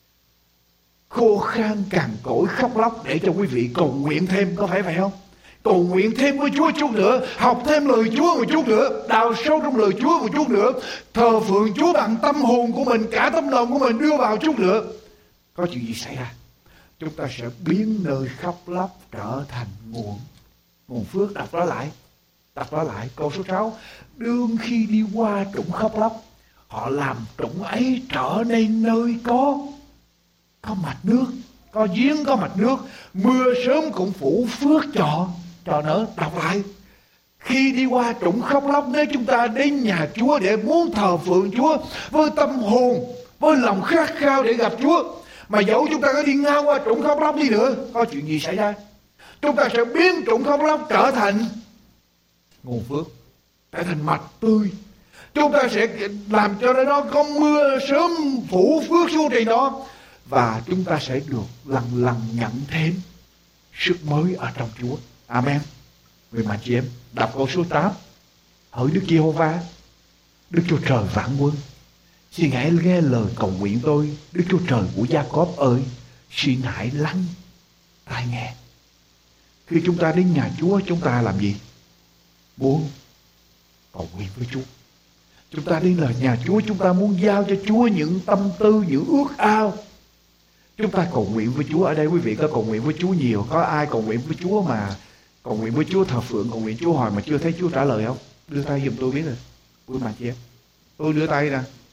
Khô khan cằn cỗi khóc lóc để cho quý vị cầu nguyện thêm, có phải vậy không? Cầu nguyện thêm với Chúa chút nữa, học thêm lời Chúa một chút nữa, đào sâu trong lời Chúa một chút nữa, thờ phượng Chúa bằng tâm hồn của mình, cả tấm lòng của mình đưa vào chút nữa. Có chuyện gì xảy ra? Chúng ta sẽ biến nơi khóc lóc trở thành nguồn nguồn phước. Đọc đó lại, đọc đó lại câu số sáu. Đương khi đi qua trũng khóc lóc, họ làm trũng ấy trở nên nơi có có mạch nước, có giếng, có mạch nước. Mưa sớm cũng phủ phước cho cho nở. Đọc lại. Khi đi qua trũng khóc lóc, nếu chúng ta đến nhà Chúa để muốn thờ phượng Chúa với tâm hồn, với lòng khát khao để gặp Chúa, mà dẫu chúng ta có đi ngang qua trũng khóc lóc đi nữa, có chuyện gì xảy ra? Chúng ta sẽ biến trũng khóc lóc trở thành nguồn phước, trở thành mạch tươi. Chúng ta sẽ làm cho nó có mưa sớm phủ phước xuống trên đó, và chúng ta sẽ được lần lần nhận thêm sức mới ở trong Chúa. Amen. Vì mà chị em đọc câu số tám. Hỡi Đức Giê-hô-va, Đức Chúa Trời vạn quân, xin hãy nghe lời cầu nguyện tôi. Đức Chúa Trời của Gia-cốp ơi, xin hãy lắng tai nghe. Khi chúng ta đến nhà Chúa, chúng ta làm gì? Muốn cầu nguyện với Chúa. Chúng ta đến là nhà Chúa, chúng ta muốn giao cho Chúa những tâm tư, những ước ao. Chúng ta cầu nguyện với Chúa. Ở đây quý vị có cầu nguyện với Chúa nhiều. Có ai cầu nguyện với Chúa mà cầu nguyện với Chúa, thờ phượng, cầu nguyện Chúa hồi mà chưa thấy Chúa trả lời không? Đưa tay giùm tôi biết rồi. Quý bà chị em, tôi đưa tay nè,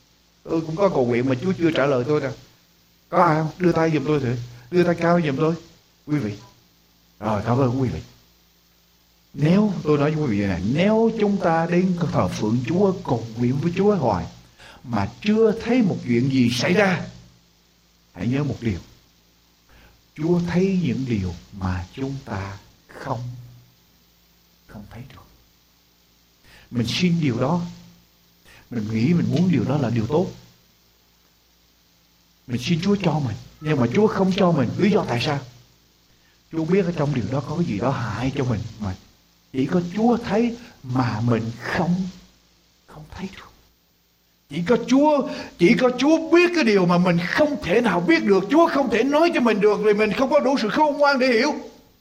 Tôi cũng có cầu nguyện mà Chúa chưa trả lời tôi nè. Có ai không? Đưa tay giùm tôi thử. Đưa tay cao giùm tôi. Quý vị. Rồi, cảm ơn quý vị. Nếu, tôi nói với quý vị này, nếu chúng ta đến thờ phượng Chúa, cầu nguyện với Chúa hoài, mà chưa thấy một chuyện gì xảy ra, hãy nhớ một điều. Chúa thấy những điều mà chúng ta không không thấy được. Mình xin điều đó, mình nghĩ mình muốn điều đó là điều tốt, mình xin Chúa cho mình, nhưng mà Chúa không cho mình. Lý do tại sao? Chúa biết ở trong điều đó có cái gì đó hại cho mình, mà chỉ có Chúa thấy mà mình không không thấy được. Chỉ có Chúa, chỉ có Chúa biết cái điều mà mình không thể nào biết được. Chúa không thể nói cho mình được vì mình không có đủ sự khôn ngoan để hiểu.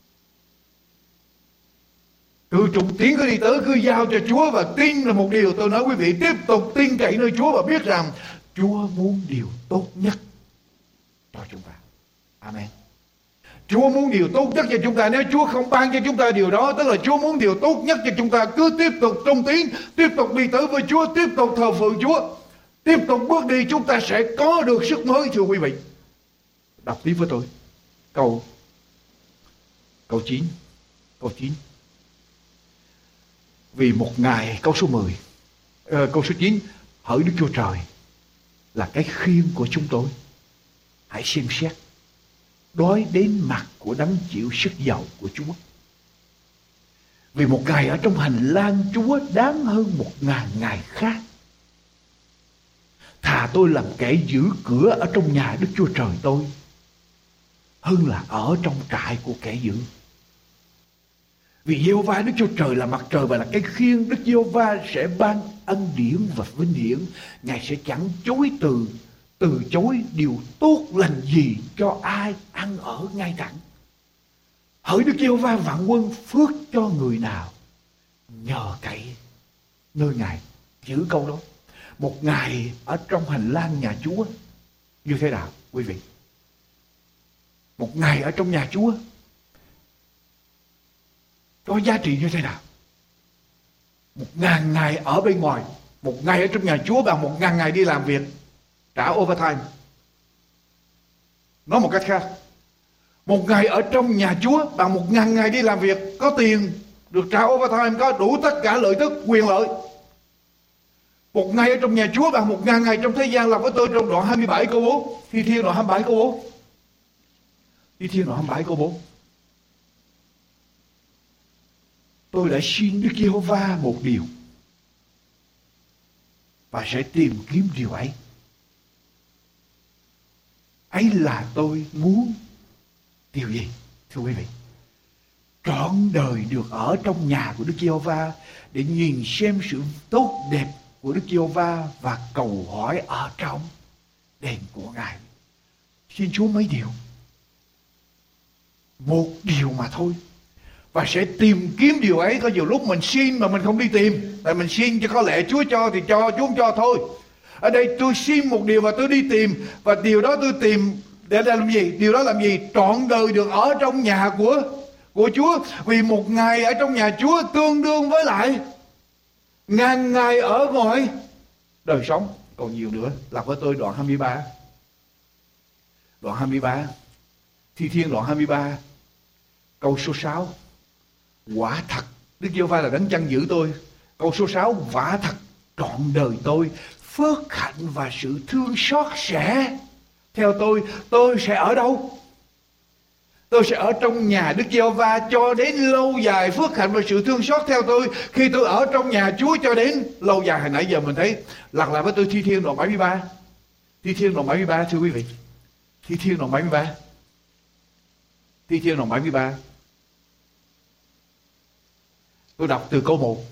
Cứ trùng tiến cứ đi tới, cứ giao cho Chúa và tin là một điều. Tôi nói quý vị, tiếp tục tin cậy nơi Chúa và biết rằng Chúa muốn điều tốt nhất cho chúng ta. Amen. Chúa muốn điều tốt nhất cho chúng ta. Nếu Chúa không ban cho chúng ta điều đó, tức là Chúa muốn điều tốt nhất cho chúng ta. Cứ tiếp tục trung tín, tiếp tục đi tới với Chúa, tiếp tục thờ phượng Chúa, tiếp tục bước đi, chúng ta sẽ có được sức mới, thưa quý vị. Đọc tiếp với tôi câu câu chín. Câu chín. Vì một ngày, câu số mười, uh, câu số chín, hỡi Đức Chúa Trời là cái khiên của chúng tôi, hãy xem xét đói đến mặt của đấng chịu sức giàu của Chúa. Vì một ngày ở trong hành lang Chúa đáng hơn một ngàn ngày khác. Thà tôi làm kẻ giữ cửa ở trong nhà Đức Chúa Trời tôi, hơn là ở trong trại của kẻ dữ. Vì Giê-hô-va Đức Chúa Trời là mặt trời và là cái khiên, Đức Giê-hô-va sẽ ban ân điển và vinh hiển. Ngài sẽ chẳng chối từ từ chối điều tốt lành gì cho ai ăn ở ngay thẳng. Hỡi Đức Giê-hô-va vạn quân, phước cho người nào nhờ cậy nơi Ngài. Giữ câu đó. Một ngày ở trong hành lang nhà Chúa như thế nào quý vị? Một ngày ở trong nhà Chúa có giá trị như thế nào? Một ngàn ngày ở bên ngoài. Một ngày ở trong nhà Chúa bằng một ngàn ngày đi làm việc, trả overtime. Nói một cách khác, một ngày ở trong nhà Chúa bằng một ngàn ngày đi làm việc, có tiền, được trả overtime, có đủ tất cả lợi tức, quyền lợi. Một ngày ở trong nhà Chúa bằng một ngàn ngày trong thế gian. Làm với tôi trong đoạn hai mươi bảy câu bốn. Thi Thiên đoạn hai mươi bảy câu bốn. Thi Thiên đoạn hai mươi bảy câu bốn. Tôi đã xin Đức Giê-hô-va một điều và sẽ tìm kiếm điều ấy. Ấy là tôi muốn điều gì? Thưa quý vị, trọn đời được ở trong nhà của Đức Giê-hô-va để nhìn xem sự tốt đẹp của Đức Giê-hô-va và cầu hỏi ở trong đền của Ngài. Xin Chúa mấy điều? Một điều mà thôi. Và sẽ tìm kiếm điều ấy. Có nhiều lúc mình xin mà mình không đi tìm. Tại mình xin cho có lẽ Chúa cho thì cho, Chúa không cho thôi. Ở đây tôi xin một điều và tôi đi tìm. Và điều đó tôi tìm để làm gì? Điều đó làm gì? Trọn đời được ở trong nhà của, của Chúa. Vì một ngày ở trong nhà Chúa tương đương với lại ngàn ngày ở ngoài đời sống. Còn nhiều nữa. Làm với tôi đoạn hai mươi ba. Đoạn hai mươi ba. Thi Thiên đoạn hai mươi ba. Câu số sáu. Quả thật Đức Giê-hô-va là đấng chăn giữ tôi. Câu số sáu. Quả thật trọn đời tôi phước hạnh và sự thương xót sẽ theo tôi. Tôi sẽ ở đâu? Tôi sẽ ở trong nhà Đức Giê-hô-va cho đến lâu dài. Phước hạnh và sự thương xót theo tôi khi tôi ở trong nhà Chúa cho đến lâu dài. Hồi nãy giờ mình thấy lặp lại với tôi Thi Thiên đoạn bảy mươi ba. Thi Thiên đoạn bảy mươi ba thưa quý vị. Thi Thiên đoạn bảy mươi ba. Thi Thiên đoạn bảy mươi ba. Tôi đọc từ câu một.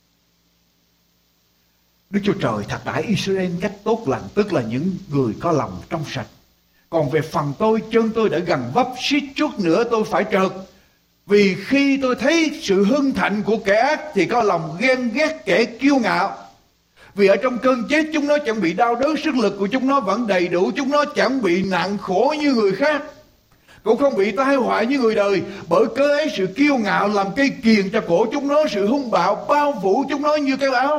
Đức Chúa Trời thật đãi Israel cách tốt lành, tức là những người có lòng trong sạch. Còn về phần tôi, chân tôi đã gần vấp, suýt chút nữa tôi phải trượt. Vì khi tôi thấy sự hưng thạnh của kẻ ác thì có lòng ghen ghét kẻ kiêu ngạo. Vì ở trong cơn chết chúng nó chẳng bị đau đớn, sức lực của chúng nó vẫn đầy đủ, chúng nó chẳng bị nặng khổ như người khác, cũng không bị tai họa như người đời. Bởi cớ ấy sự kiêu ngạo làm cây kiềng cho cổ chúng nó, sự hung bạo bao phủ chúng nó như cái áo.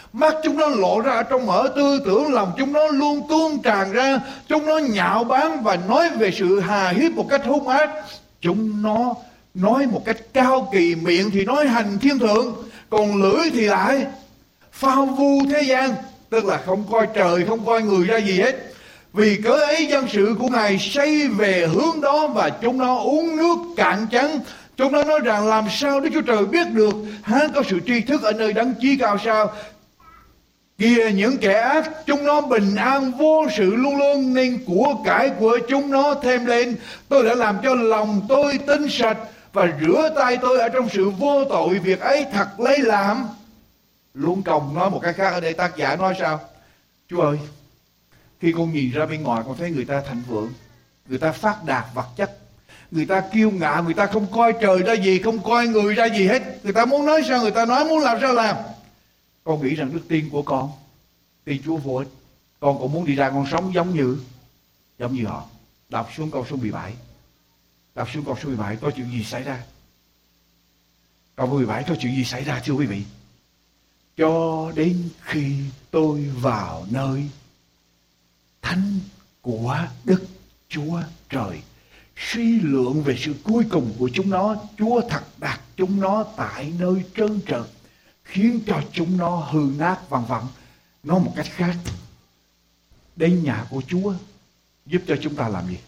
Mắt chúng nó lộ ra ở trong mở, tư tưởng lòng chúng nó luôn tuôn tràn ra. Chúng nó nhạo báng và nói về sự hà hiếp một cách hung ác. Chúng nó nói một cách cao kỳ, miệng thì nói hành thiên thượng, còn lưỡi thì lại phao vu thế gian, tức là không coi trời, không coi người ra gì hết. Vì cớ ấy dân sự của Ngài xây về hướng đó, và chúng nó uống nước cạn chắn. Chúng nó nói rằng làm sao Đức Chúa Trời biết được, há có sự tri thức ở nơi Đấng Chí Cao sao? Kìa những kẻ ác, chúng nó bình an vô sự luôn luôn, nên của cải của chúng nó thêm lên. Tôi đã làm cho lòng tôi tinh sạch, và rửa tay tôi ở trong sự vô tội. Việc ấy thật lấy làm. Luân Công nói một cái khác ở đây, tác giả nói sao? Chúa ơi, khi con nhìn ra bên ngoài, con thấy người ta thịnh vượng, người ta phát đạt vật chất, người ta kiêu ngạo, người ta không coi trời ra gì, không coi người ra gì hết. Người ta muốn nói sao người ta nói, muốn làm sao làm. Con nghĩ rằng đức tin của con, tin Chúa vô ích. Con cũng muốn đi ra con sống giống như giống như họ. Đọc xuống câu số mười bảy. Đọc xuống câu số mười bảy có chuyện gì xảy ra? Câu mười bảy có chuyện gì xảy ra thưa quý vị? Cho đến khi tôi vào nơi thánh của Đức Chúa Trời, suy lượng về sự cuối cùng của chúng nó, Chúa thật đặt chúng nó tại nơi trơn trượt, khiến cho chúng nó hư nát vân vân. Nói một cách khác, đến nhà của Chúa giúp cho chúng ta làm gì?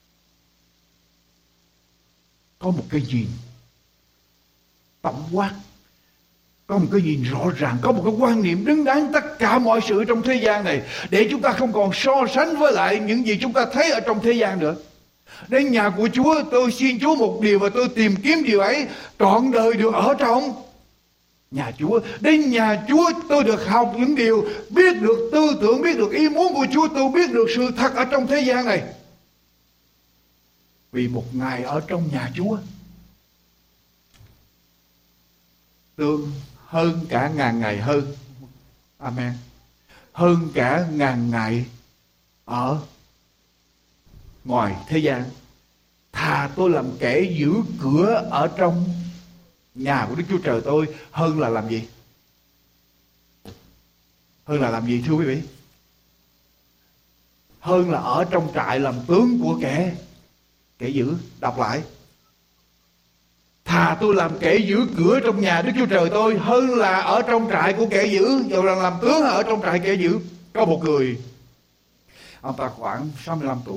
Có một cái nhìn tổng quát, có một cái nhìn rõ ràng, có một cái quan niệm đứng đắn tất cả mọi sự trong thế gian này, để chúng ta không còn so sánh với lại những gì chúng ta thấy ở trong thế gian nữa. Đến nhà của Chúa, tôi xin Chúa một điều và tôi tìm kiếm điều ấy, trọn đời được ở trong nhà Chúa. Đến nhà Chúa tôi được học những điều, biết được tư tưởng, biết được ý muốn của Chúa, tôi biết được sự thật ở trong thế gian này. Vì một ngày ở trong nhà Chúa tương hơn cả ngàn ngày hơn. Amen. Hơn cả ngàn ngày ở ngoài thế gian. Thà tôi làm kẻ giữ cửa ở trong nhà của Đức Chúa Trời tôi, hơn là làm gì? Hơn là làm gì thưa quý vị? Hơn là ở trong trại làm tướng của kẻ kẻ giữ. Đọc lại. Thà tôi làm kẻ giữ cửa trong nhà Đức Chúa Trời tôi, hơn là ở trong trại của kẻ giữ. Dù rằng làm tướng ở trong trại kẻ giữ. Có một người, ông ta khoảng sáu mươi lăm tuổi,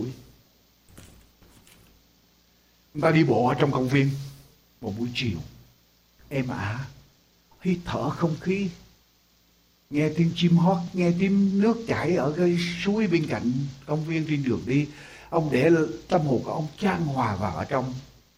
ông ta đi bộ ở trong công viên một buổi chiều êm ả, hít thở không khí, nghe tiếng chim hót, nghe tiếng nước chảy ở cái suối bên cạnh công viên trên đường đi. Ông để tâm hồn của ông chan hòa vào ở trong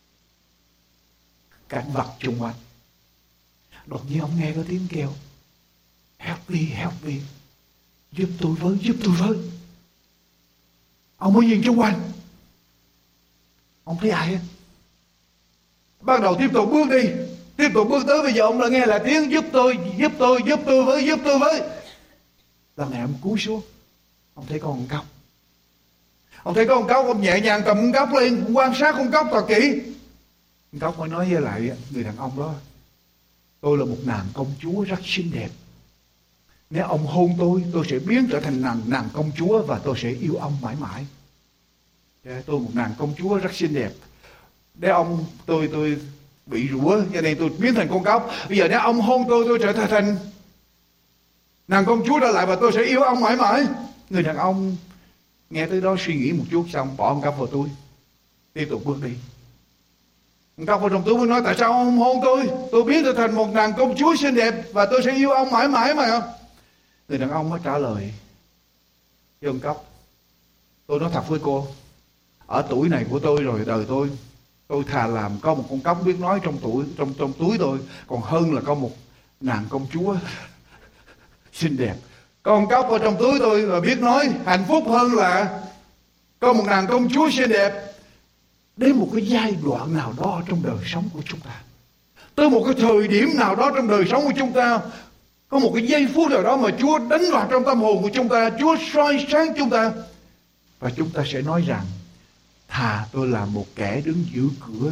cảnh vật xung quanh. Đột nhiên ông nghe có tiếng kêu, help me, help me, giúp tôi với, giúp tôi với. Ông mới nhìn xung quanh, ông thấy ai hết. Bắt đầu tiếp tục bước đi, tiếp tục bước tới. Bây giờ ông đã nghe là tiếng giúp tôi, giúp tôi, giúp tôi với, giúp tôi với. Lần này ông cúi xuống, ông thấy con cóc. Ông thấy con cóc, ông nhẹ nhàng cầm con cóc lên, ông quan sát con cóc thật kỹ. Con cóc mới nói với lại người đàn ông đó, tôi là một nàng công chúa rất xinh đẹp. Nếu ông hôn tôi, tôi sẽ biến trở thành nàng, nàng công chúa và tôi sẽ yêu ông mãi mãi. Tôi một nàng công chúa rất xinh đẹp. Nếu ông, tôi tôi bị rủa cho nên tôi biến thành con cóc. Bây giờ nếu ông hôn tôi, tôi trở thành nàng công chúa trở lại và tôi sẽ yêu ông mãi mãi. Người đàn ông nghe tới đó suy nghĩ một chút xong bỏ con cóc vào túi, tiếp tục bước đi. Con cóc vào trong túi mới nói, tại sao ông không hôn tôi? Tôi biến trở thành một nàng công chúa xinh đẹp và tôi sẽ yêu ông mãi mãi mà. Người đàn ông mới trả lời với con cóc, tôi nói thật với cô, ở tuổi này của tôi rồi, đời tôi, tôi thà làm có một con cóc biết nói trong tuổi trong trong túi tôi, còn hơn là có một nàng công chúa xinh đẹp. Con cóc ở trong túi tôi và biết nói hạnh phúc hơn là có một nàng công chúa xinh đẹp. Đến một cái giai đoạn nào đó trong đời sống của chúng ta, tới một cái thời điểm nào đó trong đời sống của chúng ta, có một cái giây phút nào đó mà Chúa đánh vào trong tâm hồn của chúng ta, Chúa soi sáng chúng ta, và chúng ta sẽ nói rằng thà tôi là một kẻ đứng giữ cửa,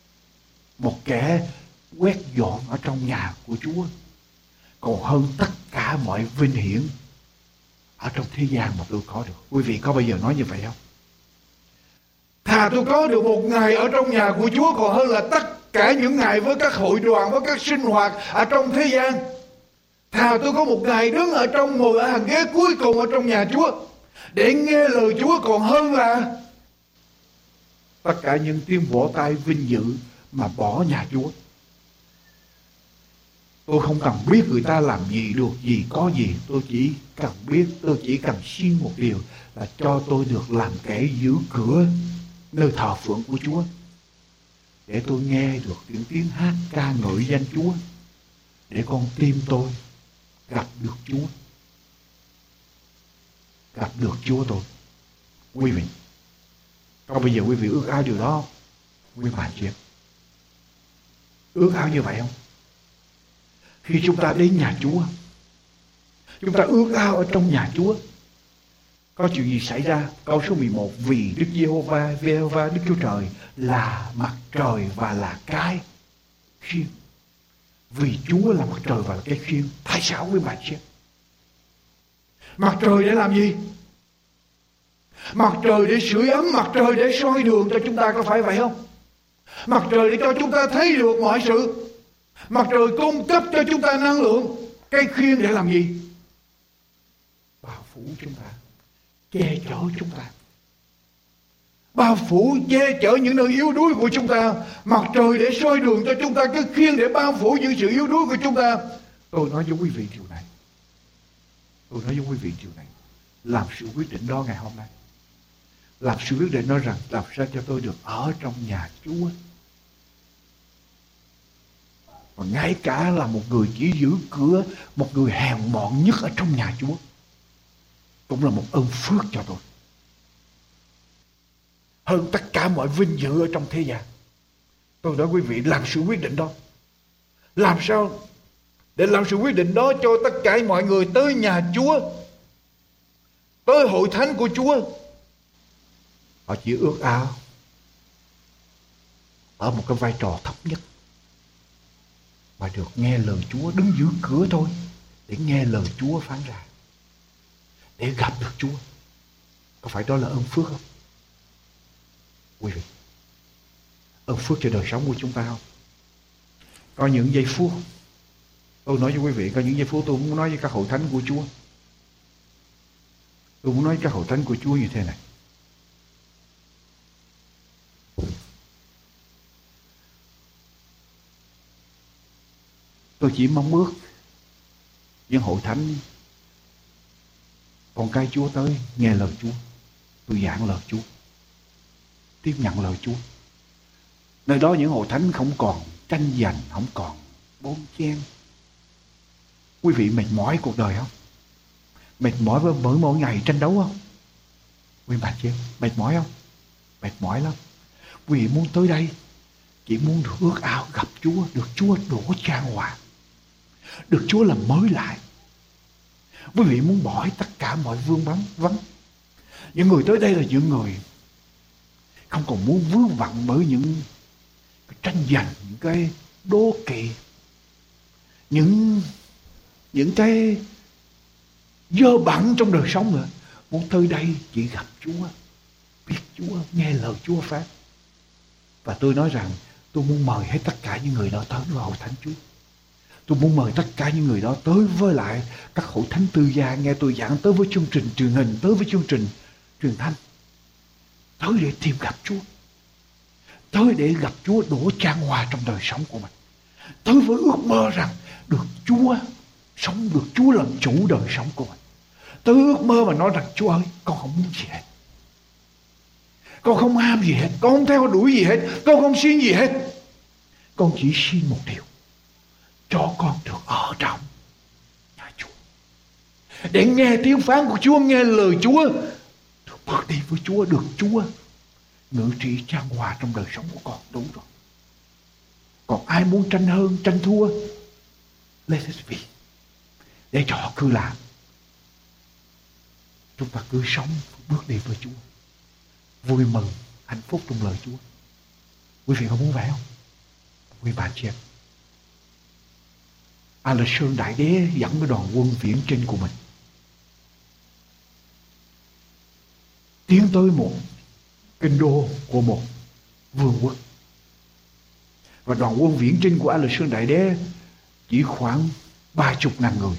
một kẻ quét dọn ở trong nhà của Chúa, còn hơn tất cả mọi vinh hiển ở trong thế gian mà tôi có được. Quý vị có bao giờ nói như vậy không? Thà tôi có được một ngày ở trong nhà của Chúa còn hơn là tất cả những ngày với các hội đoàn, với các sinh hoạt ở trong thế gian. Thà tôi có một ngày đứng ở trong, ngồi ở hàng ghế cuối cùng ở trong nhà Chúa để nghe lời Chúa còn hơn là tất cả những tiếng vỗ tay vinh dự mà bỏ nhà Chúa. Tôi không cần biết người ta làm gì, được gì, có gì. Tôi chỉ cần biết, tôi chỉ cần xin một điều là cho tôi được làm kẻ giữ cửa nơi thờ phượng của Chúa, để tôi nghe được những tiếng hát ca ngợi danh Chúa, để con tim tôi gặp được Chúa, gặp được Chúa tôi. Quý vị, có bây giờ quý vị ước ao điều đó không? Quý bạn chị em, ước ao như vậy không? Khi chúng ta đến nhà Chúa, chúng ta ước ao ở trong nhà Chúa có chuyện gì xảy ra? Câu số mười một: vì Đức Giê-hô-va, Giê-hô-va Đức Chúa Trời là mặt trời và là cái khiên. Vì Chúa là mặt trời và là cái khiên. Tại sao quý bạn xem? Mặt trời để làm gì? Mặt trời để sưởi ấm, mặt trời để soi đường cho chúng ta, có phải vậy không? Mặt trời để cho chúng ta thấy được mọi sự. Mặt trời cung cấp cho chúng ta năng lượng. Cái khiên để làm gì? Bao phủ chúng ta, che chở chúng ta, bao phủ che chở những nơi yếu đuối của chúng ta. Mặt trời để soi đường cho chúng ta, cái khiên để bao phủ những sự yếu đuối của chúng ta. Tôi nói với quý vị điều này, tôi nói với quý vị điều này, làm sự quyết định đó ngày hôm nay. Làm sự quyết định nói rằng làm sao cho tôi được ở trong nhà Chúa. Và ngay cả là một người chỉ giữ cửa, một người hèn mọn nhất ở trong nhà Chúa, cũng là một ơn phước cho tôi, hơn tất cả mọi vinh dự ở trong thế gian. Tôi nói quý vị, làm sự quyết định đó. Làm sao để làm sự quyết định đó cho tất cả mọi người tới nhà Chúa, tới hội thánh của Chúa? Họ chỉ ước ao ở một cái vai trò thấp nhất, mà được nghe lời Chúa, đứng giữa cửa thôi, để nghe lời Chúa phán ra, để gặp được Chúa. Có phải đó là ơn phước không? Quý vị, ơn phước cho đời sống của chúng ta không? Có những giây phút, tôi nói với quý vị, có những giây phút tôi muốn nói với các hội thánh của Chúa. Tôi muốn nói với các hội thánh của Chúa như thế này: tôi chỉ mong ước những hội thánh con cái Chúa tới nghe lời Chúa, tôi giảng lời Chúa, tiếp nhận lời Chúa. Nơi đó những hội thánh không còn tranh giành, không còn bon chen. Quý vị mệt mỏi cuộc đời không? Mệt mỏi với mỗi mỗi ngày tranh đấu không? Quý bạn chị em, mệt mỏi không? Mệt mỏi lắm. Quý vị muốn tới đây chỉ muốn được ước ao gặp Chúa, được Chúa đổ chan hòa, được Chúa làm mới lại. Quý vị muốn bỏ tất cả mọi vương vấn vấn. Những người tới đây là những người không còn muốn vướng vặn bởi những cái tranh giành, những cái đố kỵ, những những cái dơ bẩn trong đời sống nữa. Muốn tới đây chỉ gặp Chúa, biết Chúa, nghe lời Chúa phán. Và tôi nói rằng tôi muốn mời hết tất cả những người đó tới với hội thánh Chúa. Tôi muốn mời tất cả những người đó tới với lại các hội thánh tư gia, nghe tôi giảng, tới với chương trình truyền hình, tới với chương trình truyền thanh, tới để tìm gặp Chúa, tới để gặp Chúa đổ chan hòa trong đời sống của mình, tới với ước mơ rằng được Chúa sống, được Chúa làm chủ đời sống của mình, tới ước mơ mà nói rằng Chúa ơi, con không muốn gì hết, con không ham gì hết, con không theo đuổi gì hết, con không xin gì hết, con chỉ xin một điều: cho con được ở trong nhà Chúa, để nghe tiếng phán của Chúa, nghe lời Chúa, được bước đi với Chúa, được Chúa ngự trị chan hòa trong đời sống của con. Đúng rồi. Còn ai muốn tranh hơn, tranh thua, let it be, để cho họ cứ làm. Chúng ta cứ sống, bước đi với Chúa, vui mừng, hạnh phúc trong lời Chúa. Quý vị có muốn vậy không? Quý bạn chị em, A Lê Sơn Đại Đế dẫn cái đoàn quân viễn trinh của mình tiến tới một kinh đô của một vương quốc. Và đoàn quân viễn trinh của A Lê Sơn Đại Đế chỉ khoảng ba chục ngàn người,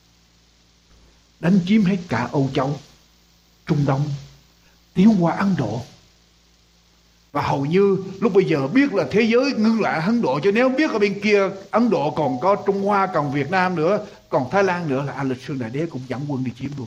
đánh chiếm hết cả Âu Châu, Trung Đông, tiến qua Ấn Độ. Và hầu như lúc bây giờ biết là thế giới ngưng lại Ấn Độ, cho nếu biết ở bên kia Ấn Độ còn có Trung Hoa, còn Việt Nam nữa, còn Thái Lan nữa, là A Lê Sơn Đại Đế cũng dẫn quân đi chiếm luôn.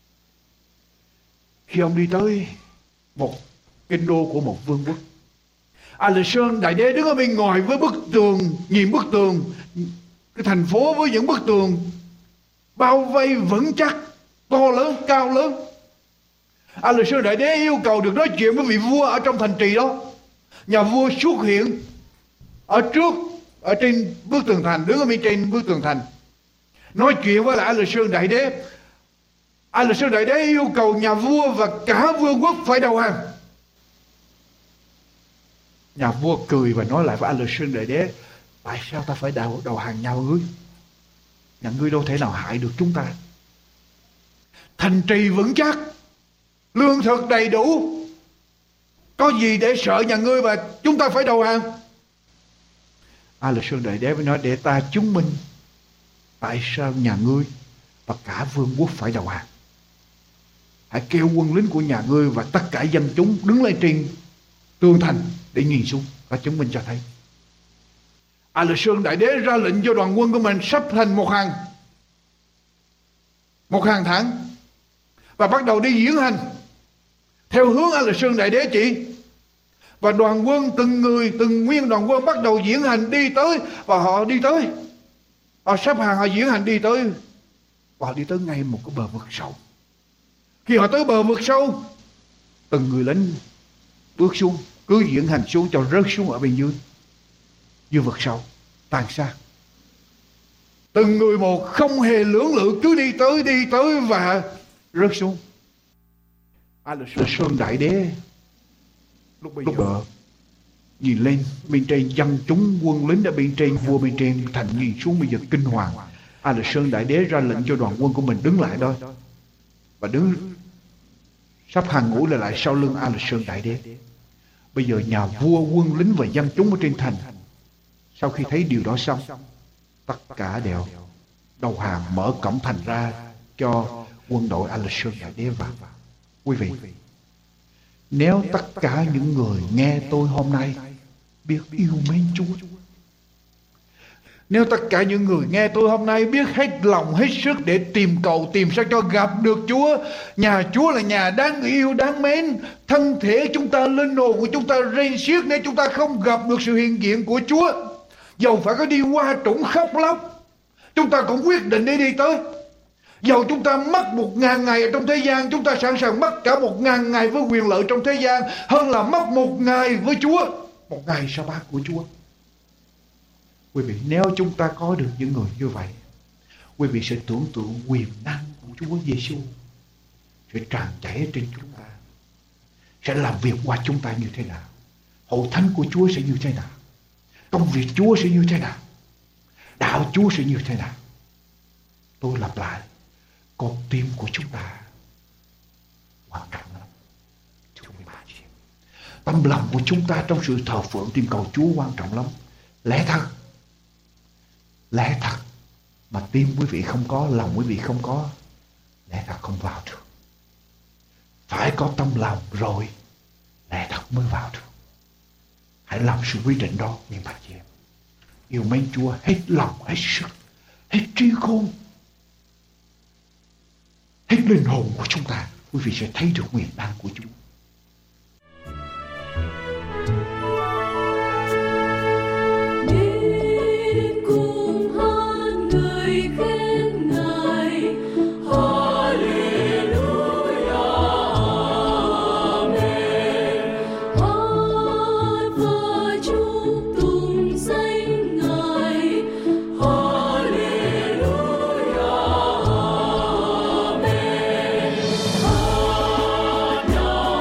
Khi ông đi tới một kinh đô của một vương quốc, A Lê Sơn Đại Đế đứng ở bên ngoài với bức tường, nhìn bức tường, cái thành phố với những bức tường bao vây vững chắc, to lớn, cao lớn. A Lê Sơn Đại Đế yêu cầu được nói chuyện với vị vua ở trong thành trì đó. Nhà vua xuất hiện ở trước, ở trên bức tường thành, đứng ở bên trên bức tường thành, nói chuyện với lại A Lê Sơn Đại Đế. A Lê Sơn Đại Đế yêu cầu nhà vua và cả vương quốc phải đầu hàng. Nhà vua cười và nói lại với A Lê Sơn Đại Đế: tại sao ta phải đầu, đầu hàng nhau ngươi? Nhà ngươi đâu thể nào hại được chúng ta. Thành trì vững chắc, lương thực đầy đủ, có gì để sợ nhà ngươi và chúng ta phải đầu hàng? A Lê Sơn Đại Đế mới nói: để ta chứng minh tại sao nhà ngươi và cả vương quốc phải đầu hàng. Hãy kêu quân lính của nhà ngươi và tất cả dân chúng đứng lên trên tường thành để nhìn xuống và chứng minh cho thấy. A Lê Sơn Đại Đế ra lệnh cho đoàn quân của mình sắp thành một hàng, một hàng thẳng, và bắt đầu đi diễn hành theo hướng A Lê Sơn Đại Đế chỉ. Và đoàn quân, từng người, từng nguyên đoàn quân bắt đầu diễn hành đi tới. Và họ đi tới, họ sắp hàng, họ diễn hành đi tới, và họ đi tới ngay một cái bờ vực sâu. Khi họ tới bờ vực sâu, từng người lính bước xuống, cứ diễn hành xuống cho rớt xuống ở bên dưới, dưới vực sâu, tàn sát. Từng người một không hề lưỡng lự, cứ đi tới, đi tới và rớt xuống. A Lê Sơn Đại Đế lúc bây giờ nhìn lên bên trên, dân chúng quân lính ở bên trên, vua bên trên thành nhìn xuống bây giờ kinh hoàng. A Lê Sơn Đại Đế ra lệnh cho đoàn quân của mình đứng lại đó, và đứng sắp hàng ngũ lại lại sau lưng A Lê Sơn Đại Đế. Bây giờ nhà vua, quân lính và dân chúng ở trên thành sau khi thấy điều đó xong, tất cả đều đầu hàng, mở cổng thành ra cho quân đội A Lê Sơn Đại Đế vào. Quý vị, nếu tất cả những người nghe tôi hôm nay biết yêu mến Chúa, nếu tất cả những người nghe tôi hôm nay biết hết lòng hết sức để tìm cầu, tìm sao cho gặp được Chúa, nhà Chúa là nhà đáng yêu, đáng mến, thân thể chúng ta, linh hồn của chúng ta rên xiết nếu chúng ta không gặp được sự hiện diện của Chúa. Dầu phải có đi qua trũng khóc lóc, chúng ta cũng quyết định để đi tới. Dầu chúng ta mất một ngàn ngày ở trong thế gian, chúng ta sẵn sàng mất cả một ngàn ngày với quyền lợi trong thế gian hơn là mất một ngày với Chúa, một ngày sa bát của Chúa. Quý vị, nếu chúng ta có được những người như vậy, quý vị sẽ tưởng tượng quyền năng của Chúa Giêsu sẽ tràn chảy trên chúng ta, sẽ làm việc qua chúng ta như thế nào, hội thánh của Chúa sẽ như thế nào, công việc Chúa sẽ như thế nào, đạo Chúa sẽ như thế nào. Tôi lặp lại, con tim của chúng ta quan trọng lắm. Tâm lòng của chúng ta trong sự thờ phượng tìm cầu Chúa quan trọng lắm. Lẽ thật, lẽ thật mà tim quý vị không có, lòng quý vị không có, lẽ thật không vào được. Phải có tâm lòng rồi lẽ thật mới vào được. Hãy làm sự quyết định đó, những bà chị em. Yêu mến Chúa hết lòng, hết sức, hết trí khôn, hết linh hồn của chúng ta, quý vị sẽ thấy được quyền năng của Chúa. No.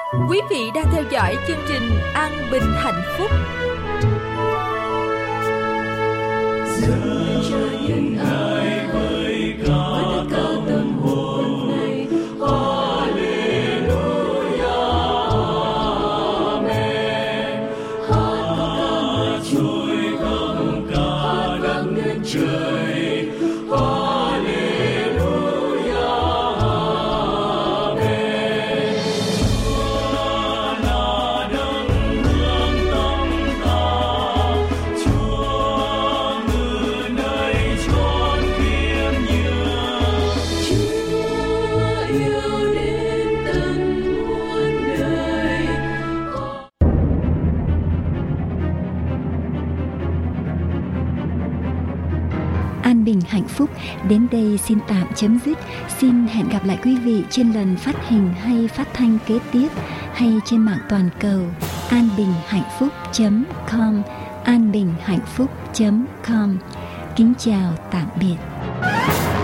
Quý vị đang theo dõi chương trình An Bình Hạnh Phúc. Giờ cho những ai với cả tâm hồn này, Hallelujah, Amen. Hát ca trôi khắp cả đất nước trời, Hallelujah, Amen. Chúa là đấng hướng tâm ta, Chúa ngự nơi chốn khiêm nhường, Chúa yêu đến tận muôn đời. An Bình Hạnh Phúc đến đây xin tạm chấm dứt. Xin hẹn gặp lại quý vị trên lần phát hình hay phát thanh kế tiếp, hay trên mạng toàn cầu anbinhhạnhphúc chấm com, anbinhhạnhphúc chấm com. Kính chào tạm biệt.